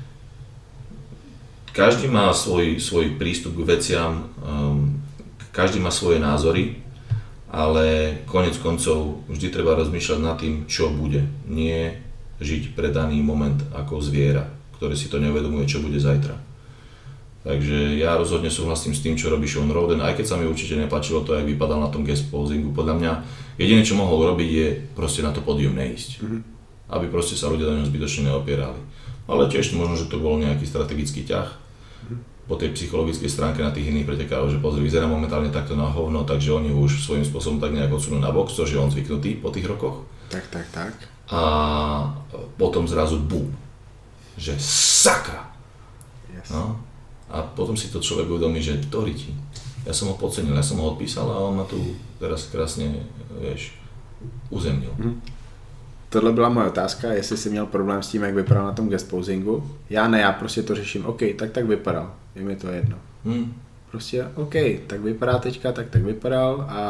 každý má svoj, svoj prístup k veciam, um, každý má svoje názory, ale konec koncov vždy treba rozmýšľať nad tým, čo bude. Nie žiť pre daný moment ako zviera, ktoré si to neuvedomuje, čo bude zajtra. Takže ja rozhodne súhlasím s tým, čo robí Shawn Rhoden, aj keď sa mi určite nepáčilo to, jak vypadal na tom guest posingu. Podľa mňa jediné, čo mohol robiť, je proste na to pódium neísť. Mm-hmm. Aby proste sa ľudia do neho zbytočne neopierali. Ale tiež možno, že to bol nejaký strategický ťah po tej psychologickej stránke na tých iných pretekárov, že pozri, vyzerá momentálne takto na hovno, takže oni už svojím spôsobom tak nejak odsunú na bok, čo je on zvyknutý po tých rokoch. Tak, tak, tak. A potom zrazu bum, že sakra. Yes. No? A potom si to človek uvedomí, že to riti. Ja som ho podcenil, ja som ho odpísal a on ma tu teraz krásne, vieš, uzemnil. Mm. Tohle byla moje otázka, jestli jsi měl problém s tím, jak vypadal na tom guest posingu. Já ne, já prostě to řeším, OK, tak tak vypadal, je mi to jedno. Hmm. Prostě OK, tak vypadá teďka, tak tak vypadal a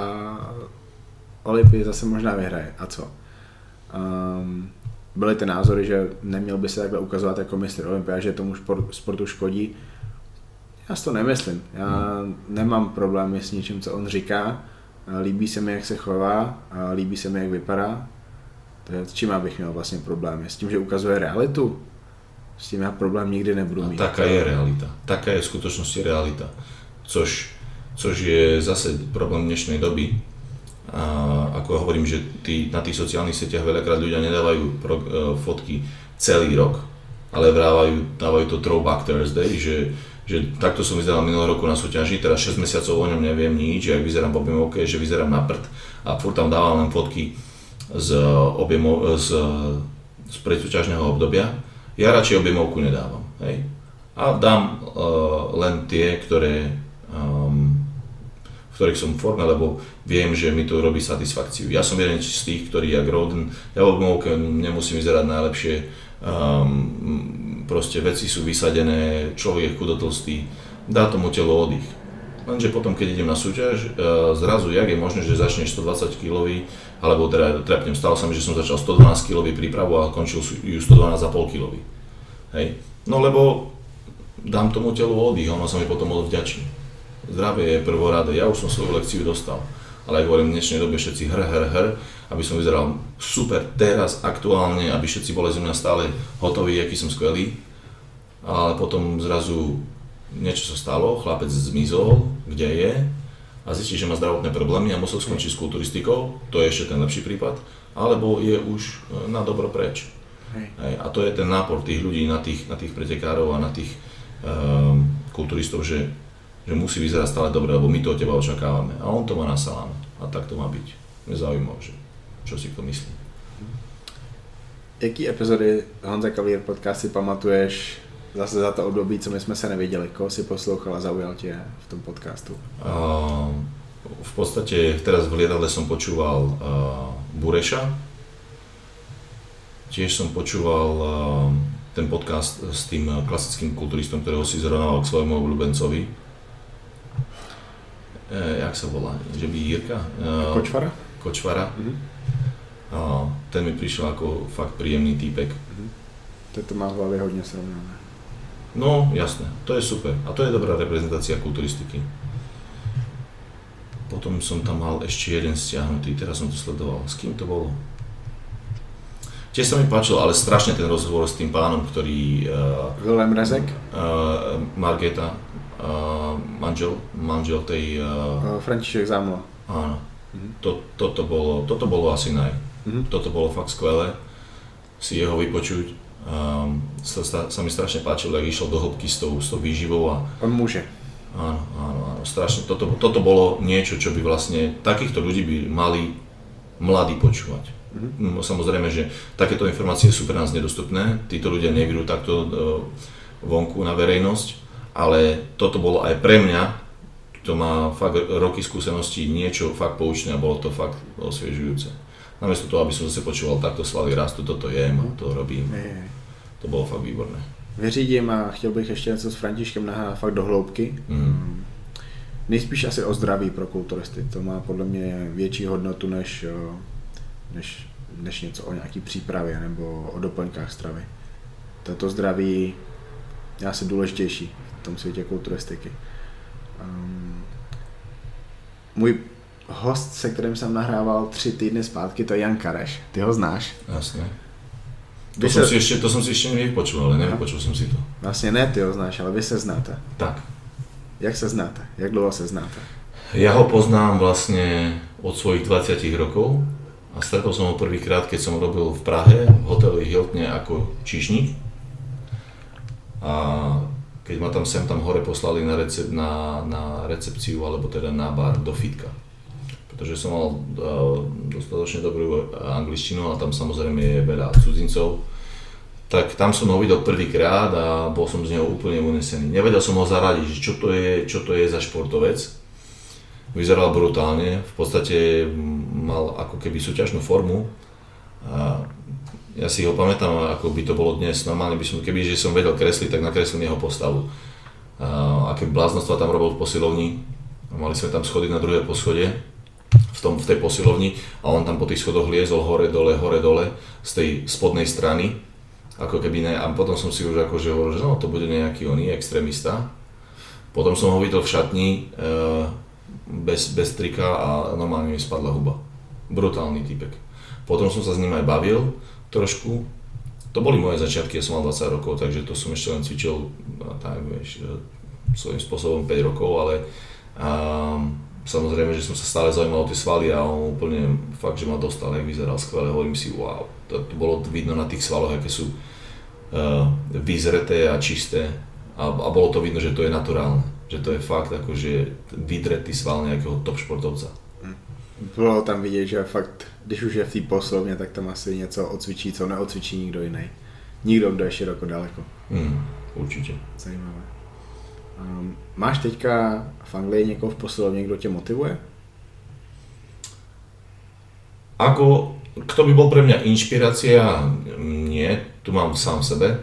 Olympii zase možná vyhraje. A co? Um, byly ty názory, že neměl by se takhle ukazovat jako mistr Olympia, že tomu sportu škodí. Já si to nemyslím. Já hmm. nemám problémy s ničím, co on říká. Líbí se mi, jak se chová, líbí se mi, jak vypadá. To je, s čím abych měl vlastně problémy? S tím, že ukazuje realitu? S tím já problém nikdy nebudu mít. A taká je realita. Taká je v skutočnosti realita. Což, což je zase problém dnešnej doby. A ako hovorím, že tí, na tých sociálnych sieťach veľakrát ľudia nedávajú pro, uh, fotky celý rok, ale vrávajú, dávajú to Throwback Thursday, že, že takto som vyzeral minulého roku na súťaži, teraz šesť mesiacov o ňom neviem nič, jak vyzerám po objemovke, že vyzerám na prd a furt tam dávam len fotky z, objemov, z, z predsúťažného obdobia. Ja radšej objemovku nedávam, hej. A dám uh, len tie, ktoré, um, v ktorých som v forme, lebo viem, že mi to robí satisfakciu. Ja som jeden z tých, ktorý jak Rhoden, ja v objemovke nemusím vyzerať najlepšie, um, proste veci sú vysadené, človek je chudotlstý, dá tomu telo oddych. Lenže potom, keď idem na súťaž, zrazu, jak je možné, že začneš stodvadsať kilový, alebo teda trepnem, stalo sa mi, že som začal stodvanásť kilový prípravu a končil ju stodvanásť celá päť kilový. Hej. No lebo dám tomu telu oddych, ono sa mi potom odvďačí. Zdravie je prvoradé, ja už som svoju lekciu dostal. Ale ako hovorím, v dnešnej dobe všetci hr, hr, hr, aby som vyzeral super teraz, aktuálne, aby všetci boli zo mňa stále hotoví, aký som skvelý. Ale potom zrazu niečo sa stalo, chlapec zmizol, kde je a zistí, že má zdravotné problémy a musel skončiť s kulturistikou, to je ešte ten lepší prípad, alebo je už na dobro preč. Hej. A to je ten nápor tých ľudí na tých, na tých pretekárov a na tých um, kulturistov, že, že musí vyzerať stále dobre, lebo my to od teba očakávame a on to má na saláme a tak to má byť. Mne zaujímavé, že čo si to myslí. Jaký epizody Honza Cavalier podcast si pamatuješ zase za to období, co my jsme se neviděli? Koho si poslouchal a zaujal tě v tom podcastu? Uh, v podstate teraz v lietadle som počúval uh, Bureša. Tiež som počúval uh, ten podcast s tým klasickým kulturistom, ktorého si zrovnával k svojmu obľúbencovi. E, jak sa volá? Že by Jirka? Uh, Kočvara? Kočvara. Mm-hmm. Uh, ten mi prišiel ako fakt príjemný týpek. Mm-hmm. To má v hlavě hodně srovnané. No, jasné, to je super a to je dobrá reprezentácia kulturistiky. Potom som tam mal ešte jeden stiahnutý, teraz som to sledoval. S kým to bolo? Tiež sa mi páčilo, ale strašne ten rozhovor s tým pánom, ktorý... Uh, Vilém Rezek? Uh, Margeta, uh, manžel, manžel tej... Uh, František Zámla. Áno. Mm-hmm. To, toto, bolo, toto bolo asi naj. Mm-hmm. Toto bolo fakt skvelé si jeho vypočuť. Um, sa, sa mi strašne páčilo, ak išiel do hĺbky s tou, s tou výživou. A, on môže. Áno, áno, áno, strašne. Toto, toto bolo niečo, čo by vlastne takýchto ľudí by mali mladí počúvať. Mm-hmm. Samozrejme, že takéto informácie sú pre nás nedostupné, títo ľudia nevidú takto uh, vonku na verejnosť, ale toto bolo aj pre mňa, to má fakt roky skúseností, niečo fakt poučné a bolo to fakt osviežujúce. Namiesto toho, aby som zase počúval, takto svaly rastú, toto jem a to robím. Je. To bylo fakt výborné. Vyřídím a chtěl bych ještě něco s Františkem nahrát fakt do hloubky. Mm. Nejspíš asi o zdraví pro kulturisty. To má podle mě větší hodnotu než, než, než něco o nějaký přípravě nebo o doplňkách stravy. Toto zdraví je asi důležitější v tom světě kulturistiky. Um, můj host, se kterým jsem nahrával tři týdny zpátky, to je Jan Kareš. Ty ho znáš? Jasně. To, se... som si ešte, to som si ešte nevypočul, ale nevypočul som si to. Vlastne ne, ty ho znáš, ale vy se znáte. Tak. Jak se znáte? Jak dlouho se znáte? Ja ho poznám vlastne od svojich dvadsať rokov a stretol som ho prvýkrát, keď som robil v Prahe v hoteli Hiltne ako číšnik. A keď ma tam sem tam hore poslali na, recep, na, na recepciu alebo teda na bar do fitka. Pretože som mal uh, dostatočne dobrú angličtinu a tam samozrejme je veľa cudzincov. Tak tam som ho videl prvýkrát a bol som z neho úplne unesený. Nevedel som ho zaradiť, čo to je, čo to je za športovec. Vyzeral brutálne, v podstate mal ako keby súťažnú formu. A ja si ho pamätám, ako by to bolo dnes. Normálne by som, keby že som vedel kresliť, tak nakreslil jeho postavu. A aké bláznostva tam robil v posilovni. Mali sme tam schody na druhé poschode. V, tom, v tej posilovni a on tam po tých schodoch liezol hore, dole, hore, dole z tej spodnej strany, ako keby ne, a potom som si už akože hovoril, že no to bude nejaký oný extrémista. Potom som ho videl v šatni e, bez, bez trika a normálne mi spadla huba. Brutálny typek. Potom som sa s ním aj bavil trošku. To boli moje začiatky, ja som mal dvadsať rokov, takže to som ešte len cvičil tak, vieš, svojím spôsobom päť rokov, ale um, samozrejme, že som sa stále zaujímal o tie svaly a on úplne fakt, že ma dostal, jak vyzeral skvelé, hovorím si wow, to, to bolo vidno na tých svaloch, aké sú uh, vyzreté a čisté a, a bolo to vidno, že to je naturálne, že to je fakt akože vydretý sval nejakého top športovca. Bylo tam vidět, že fakt, když už je v té poslovně, tak tam asi něco odcvičí, co neodcvičí nikdo jiný. Nikdo, kdo je široko daleko. Mm, určitě. Zajímavé. Um, máš teďka v Anglii někoho v posilovně, kdo tě motivuje? Ako, kto by bol pre mňa inšpirácia? Nie, tu mám sám sebe,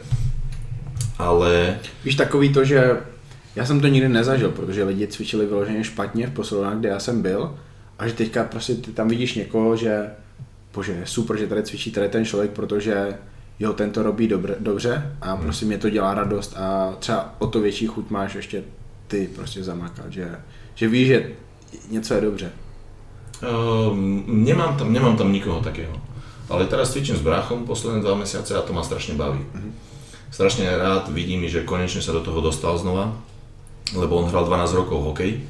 ale... Víš, takový to, že já jsem to nikdy nezažil, protože lidi cvičili vyloženě špatně v posilovnách, kde já jsem byl, a že teďka prostě ty tam vidíš někoho, že bože, je super, že tady cvičí tady ten člověk, protože jo, ten to robí dobře, dobře a hmm. prostě mě to dělá radost a třeba o to větší chuť máš ještě ty prostě zamakat, že, že víš, že něco je dobře. Uh, nemám, tam, nemám tam nikoho takého, ale teraz cvičím s bráchom posledné dva mesiace a to ma strašne baví. Uh-huh. Strašne rád vidím, že konečne sa do toho dostal znova, lebo on hral dvanásť rokov hokej.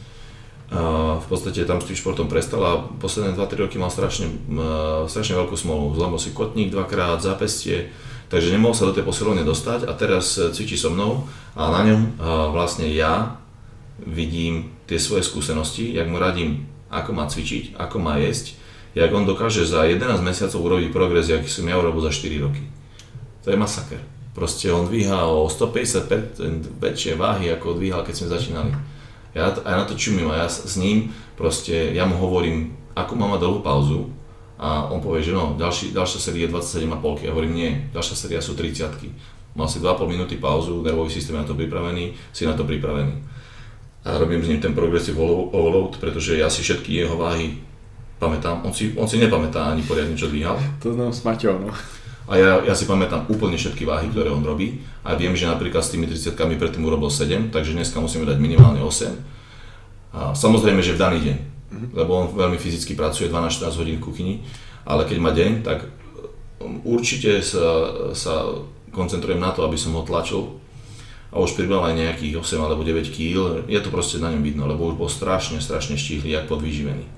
Uh, v podstate tam s tým športom prestal a posledné dva tri roky mal strašne, uh, strašne veľkú smolu. Zlomil si kotník dvakrát, zápestie, takže nemohol sa do tej posilovne dostať a teraz cvičí so mnou a na ňom uh, vlastne ja vidím tie svoje skúsenosti, jak mu radím, ako má cvičiť, ako má jesť, jak on dokáže za jedenásť mesiacov urobiť progres, aký som ja urobil za štyri roky. To je masaker. Proste on dvíha o stopäťdesiat percent väčšie váhy, ako dvíhal, keď sme začínali. Ja, ja na to čumím a ja s ním proste, ja mu hovorím, ako má mať dlhú pauzu a on povie, že no, ďalší, ďalšia série je dvadsaťsedem a pol. Ja hovorím, nie, ďalšia séria sú tridsiatky. Mal si dva a pol minúty pauzu, nervový systém je na to pripravený, si na to pripravený. A robím s ním ten progressive overload, pretože ja si všetky jeho váhy pamätám. On si, on si nepamätá ani poriadne, čo dvíhal. To znám s Maťou, no. A ja, ja si pamätám úplne všetky váhy, ktoré on robí. A viem, že napríklad s tými tridsiatkami predtým urobil sedem, takže dneska musíme dať minimálne osem. A samozrejme, že v daný deň, mm-hmm. lebo on veľmi fyzicky pracuje dvanásť štrnásť hodín v kuchyni, ale keď má deň, tak určite sa, sa koncentrujem na to, aby som ho tlačil. A už pribral aj nejakých osem alebo deväť kíl, je to proste na ňom vidno, lebo už bol strašne, strašne štíhly, jak podvýživený.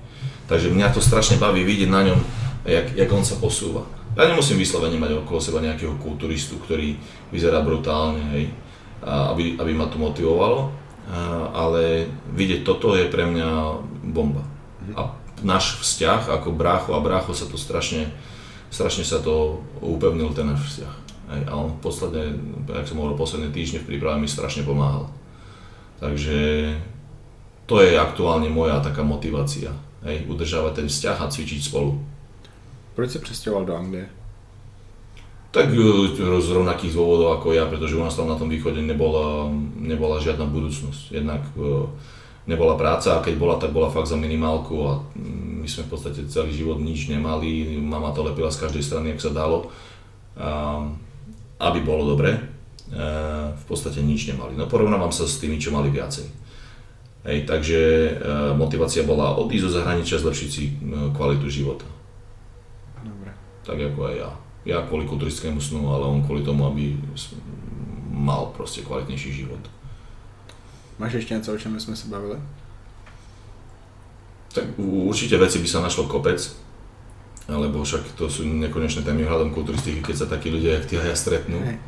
Takže mňa to strašne baví vidieť na ňom, jak, jak on sa posúva. Ja nemusím vyslovene mať okolo seba nejakého kulturistu, ktorý vyzerá brutálne, hej, aby, aby ma to motivovalo, ale vidieť toto je pre mňa bomba. A náš vzťah ako brácho a brácho sa to strašne, strašne sa to upevnil ten náš vzťah. Hej, a on v podstate, jak som hovoril, posledné týždne v príprave mi strašne pomáhal. Takže to je aktuálne moja taká motivácia. Hej, udržávať ten vzťah a cvičiť spolu. Proč sa presťahoval do Anglie? Tak z rovnakých dôvodov ako ja, pretože u nás tam na tom východe nebola, nebola žiadna budúcnosť. Jednak nebola práca a keď bola, tak bola fakt za minimálku a my sme v podstate celý život nič nemali. Mama to lepila z každej strany, jak sa dalo, aby bolo dobre. V podstate nič nemali. No porovnávam sa s tými, čo mali viacej. Hej, takže e, motivácia bola odísť zo zahraničia, zlepšiť si e, kvalitu života. Dobre. Tak ako aj ja. Ja kvôli kulturistickému snu, ale on kvôli tomu, aby mal proste kvalitnejší život. Máš ešte niečo, o čom sme sa bavili? Tak určite veci by sa našlo kopec, lebo však to sú nekonečné témy hľadom kulturistiky, keď sa takí ľudia, jak ty a ja stretnú. Hej.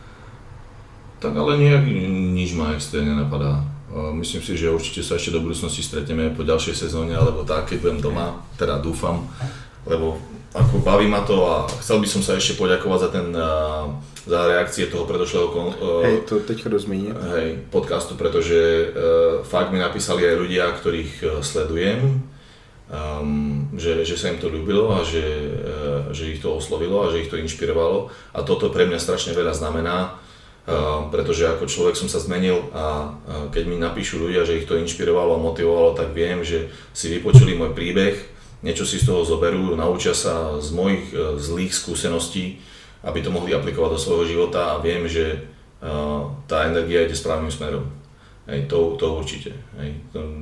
Tak ale nejak nič ma extrémne nenapadá. Myslím si, že určite sa ešte do budúcnosti stretneme po ďalšej sezóne, alebo tak, keď budem doma, teda dúfam, lebo ako baví ma to a chcel by som sa ešte poďakovať za ten, za reakcie toho predošlého hej, to teď rozmíniť. Hej, podcastu, pretože uh, fakt mi napísali aj ľudia, ktorých sledujem, um, že, že sa im to ľúbilo a že, uh, že ich to oslovilo a že ich to inšpirovalo a toto pre mňa strašne veľa znamená. Uh, pretože ako človek som sa zmenil a uh, keď mi napíšu ľudia, že ich to inšpirovalo a motivovalo, tak viem, že si vypočuli môj príbeh, niečo si z toho zoberú, naučia sa z mojich uh, zlých skúseností, aby to mohli aplikovať do svojho života a viem, že uh, tá energia ide správnym smerom. Hej, to, to určite. Hej.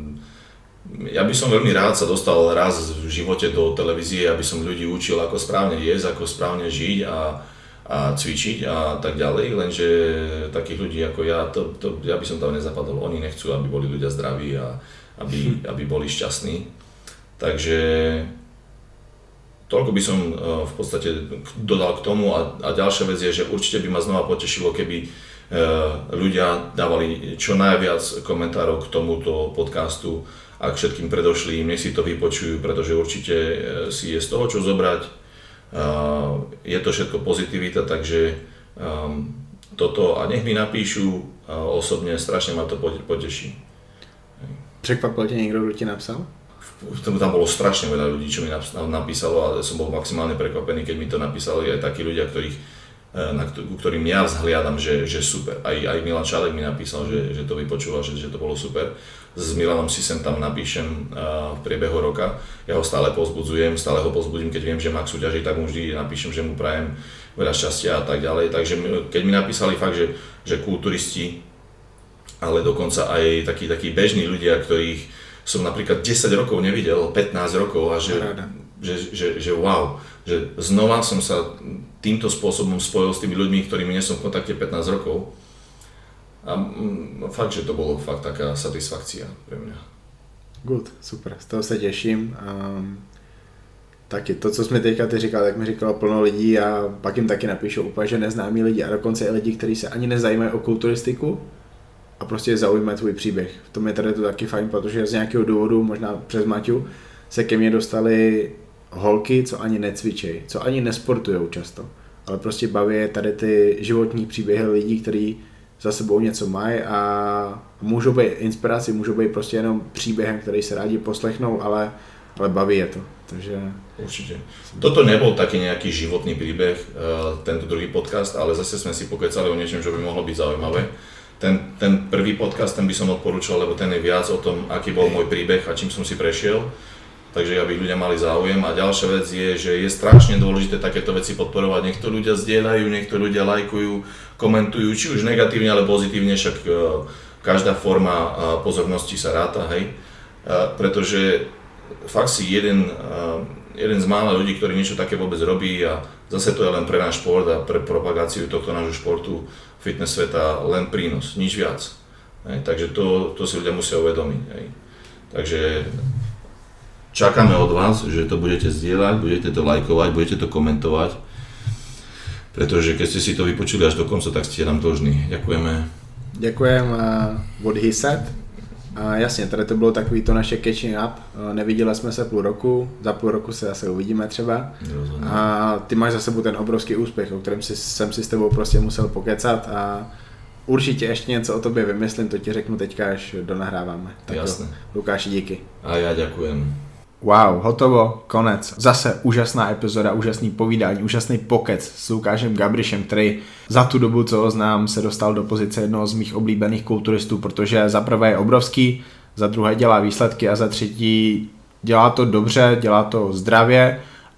Ja by som veľmi rád sa dostal raz v živote do televízie, aby som ľudí učil, ako správne jesť, ako správne žiť a a cvičiť a tak ďalej, lenže takých ľudí ako ja, to, to, ja by som tam nezapadol. Oni nechcú, aby boli ľudia zdraví a aby, aby boli šťastní. Takže toľko by som v podstate dodal k tomu a, a ďalšia vec je, že určite by ma znova potešilo, keby ľudia dávali čo najviac komentárov k tomuto podcastu a k všetkým predošlým, nech si to vypočujú, pretože určite si je z toho čo zobrať. Uh, je to všetko pozitivita, takže um, toto a nech mi napíšu uh, osobne, strašne ma to poteší. Překvapil ťa niekto, kto ti napsal? Tam bolo strašne veľa ľudí, čo mi napísalo a som bol maximálne prekvapený, keď mi to napísali aj takí ľudia, ktorých, na ktorým ja vzhliadam, že, že super. Aj, aj Milan Čálek mi napísal, že, že to vypočúval, že, že to bolo super. S Milanom si sem tam napíšem uh, v priebehu roka. Ja ho stále povzbudzujem, stále ho povzbudím, keď viem, že má k súťaži, tak mu vždy napíšem, že mu prajem veľa šťastia a tak ďalej. Takže keď mi napísali fakt, že, že kulturisti, ale dokonca aj takí, takí bežní ľudia, ktorých som napríklad desať rokov nevidel, pätnásť rokov a že, že, že, že wow, že znova som sa týmto spôsobom spojil s tými ľuďmi, ktorými nie som v kontakte pätnásť rokov. A fakt, že to bolo fakt taká satisfakcia pre mňa. Good, super, z toho se těším. Um, taky to, co jsme teďka ty říkal, tak mi říkalo plno lidí a pak jim taky napíšou úplně, že neznámí lidi a dokonce i lidi, kteří se ani nezajímají o kulturistiku a prostě zaujímají tvůj příběh. V tom je tady to taky fajn, protože z nějakého důvodu, možná přes Maťu, se ke mně dostali holky, co ani necvičejí, co ani nesportujou často, ale prostě baví tady ty životní příběhy lidí, kteří za sebou něco mají a můžou být inspirací, můžou být prostě jenom příběhem, který se rádi poslechnou, ale, ale baví je to. Takže... Určite. Toto nebol taký nejaký životný príbeh, tento druhý podcast, ale zase sme si pokecali o niečom, čo by mohlo byť zaujímavé. Ten, ten prvý podcast, ten by som odporúčal, lebo ten je viac o tom, aký bol môj príbeh a čím som si prešiel. Takže aby ľudia mali záujem. A ďalšia vec je, že je strašne dôležité takéto veci podporovať. Nech to ľudia zdieľajú, nech to ľudia lajkujú, komentujú, či už negatívne, ale pozitívne, však každá forma pozornosti sa ráta, hej. Pretože fakt si jeden, jeden z mála ľudí, ktorí niečo také vôbec robí a zase to je len pre náš šport a pre propagáciu tohto nášho športu, fitness sveta, len prínos, nič viac. Hej. Takže to, to si ľudia musia uvedomiť. Hej. Takže čakáme od vás, že to budete zdieľať, budete to lajkovať, budete to komentovať, pretože keď ste si to vypočuli až do konca, tak ste nám dlžní. Ďakujeme. Děkujem uh, what he said. Uh, jasně, tady to bylo takový to naše catching up. Uh, neviděli jsme se půl roku, za půl roku se zase uvidíme třeba. Rozhodně. A ty máš za sebou ten obrovský úspěch, o kterém si, jsem si s tebou prostě musel pokecat a určitě ještě něco o tobě vymyslím, to ti řeknu teďka, až donahráváme. Tak Jasné. Jo, Lukáši, díky. A já ďakujem. Wow, hotovo, konec. Zase úžasná epizoda, úžasný povídání, úžasný pokec s Lukášem Gabrišem, který za tu dobu, co ho znám, se dostal do pozice jednoho z mých oblíbených kulturistů, protože za prvé je obrovský, za druhé dělá výsledky a za třetí dělá to dobře, dělá to zdravě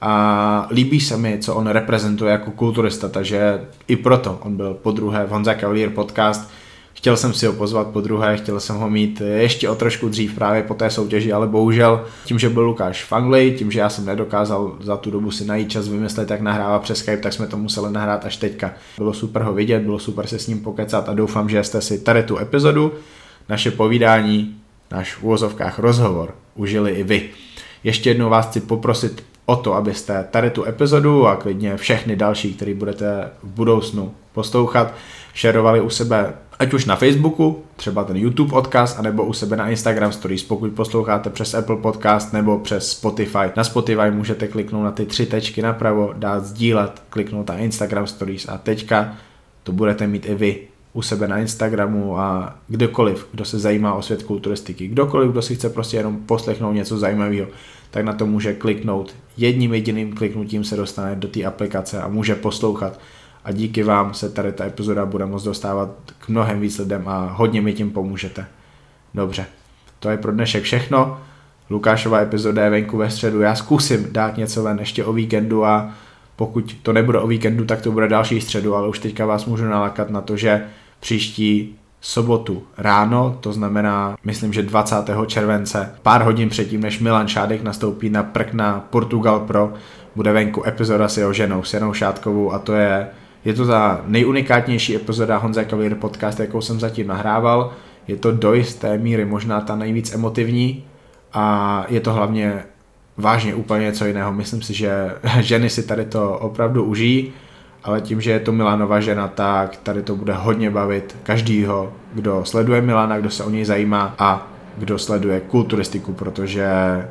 a líbí se mi, co on reprezentuje jako kulturista, takže i proto on byl podruhé v Honza Cavalier podcast. Chtěl jsem si ho pozvat po druhé, chtěl jsem ho mít ještě o trošku dřív právě po té soutěži, ale bohužel tím, že byl Lukáš v Anglii, tím, že já jsem nedokázal za tu dobu si najít čas vymyslet, jak nahrává přes Skype, tak jsme to museli nahrát až teďka. Bylo super ho vidět, bylo super se s ním pokecat a doufám, že jste si tady tu epizodu, naše povídání, náš v uvozovkách rozhovor užili i vy. Ještě jednou vás chci poprosit o to, abyste tady tu epizodu a klidně všechny další, které budete v budoucnu poslouchat, šerovali u sebe, ať už na Facebooku, třeba ten YouTube odkaz, anebo u sebe na Instagram Stories, pokud posloucháte přes Apple Podcast nebo přes Spotify. Na Spotify můžete kliknout na ty tři tečky napravo, dát sdílet, kliknout na Instagram Stories a teďka to budete mít i vy u sebe na Instagramu a kdokoliv, kdo se zajímá o svět kulturistiky, kdokoliv, kdo si chce prostě jenom poslechnout něco zajímavého, tak na to může kliknout. Jedním jediným kliknutím se dostane do té aplikace a může poslouchat. A díky vám se tady ta epizoda bude moct dostávat k mnohem víc lidem a hodně mi tím pomůžete. Dobře, to je pro dnešek všechno. Lukášova epizoda je venku ve středu. Já zkusím dát něco ven ještě o víkendu a pokud to nebude o víkendu, tak to bude další středu, ale už teďka vás můžu nalakat na to, že příští sobotu ráno, to znamená, myslím, že dvacátého července, pár hodin předtím, než Milan Šádek nastoupí na prk na Portugal Pro, bude venku epizoda s jeho ženou, s Janou Šádkovou a to je Je to ta nejunikátnější epizoda Honza Cavalier podcast, jakou jsem zatím nahrával. Je to do jisté míry možná ta nejvíc emotivní a je to hlavně vážně úplně něco jiného. Myslím si, že ženy si tady to opravdu užijí, ale tím, že je to Milanova žena, tak tady to bude hodně bavit každýho, kdo sleduje Milana, kdo se o něj zajímá a kdo sleduje kulturistiku, protože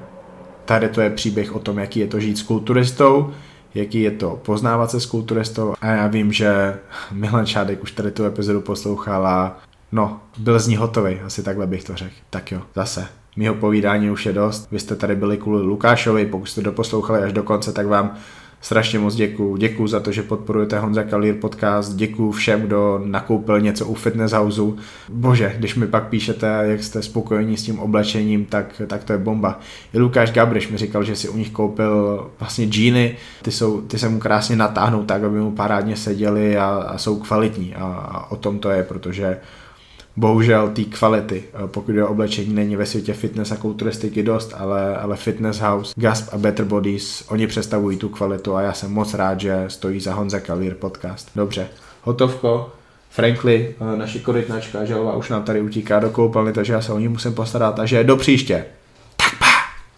tady to je příběh o tom, jaký je to žít s kulturistou, jaký je to poznávat se s kulturistou a já vím, že Milan Šádek už tady tu epizodu poslouchal a no, byl z ní hotový, asi takhle bych to řekl. Tak jo, zase, mýho povídání už je dost, vy jste tady byli kvůli Lukášovi, pokud jste doposlouchali až do konce, tak vám strašně moc děkuju. Děkuju za to, že podporujete Honza Cavalier podcast, děkuju všem, kdo nakoupil něco u Fitness Houseu. Bože, když mi pak píšete, jak jste spokojení s tím oblečením, tak, tak to je bomba. I Lukáš Gabriš mi říkal, že si u nich koupil vlastně džíny, ty, jsou, ty se mu krásně natáhnou tak, aby mu parádně seděly a, a jsou kvalitní a, a o tom to je, protože bohužel té kvality, pokud je oblečení, není ve světě fitness a kulturistiky dost, ale, ale Fitness House, Gasp a Better Bodies, oni představují tu kvalitu a já jsem moc rád, že stojí za Honza Cavalier podcast. Dobře, hotovko, Frankly, naši korytnačka Želva už nám tady utíká do koupelny, takže já se o ní musím postarat, takže do příště.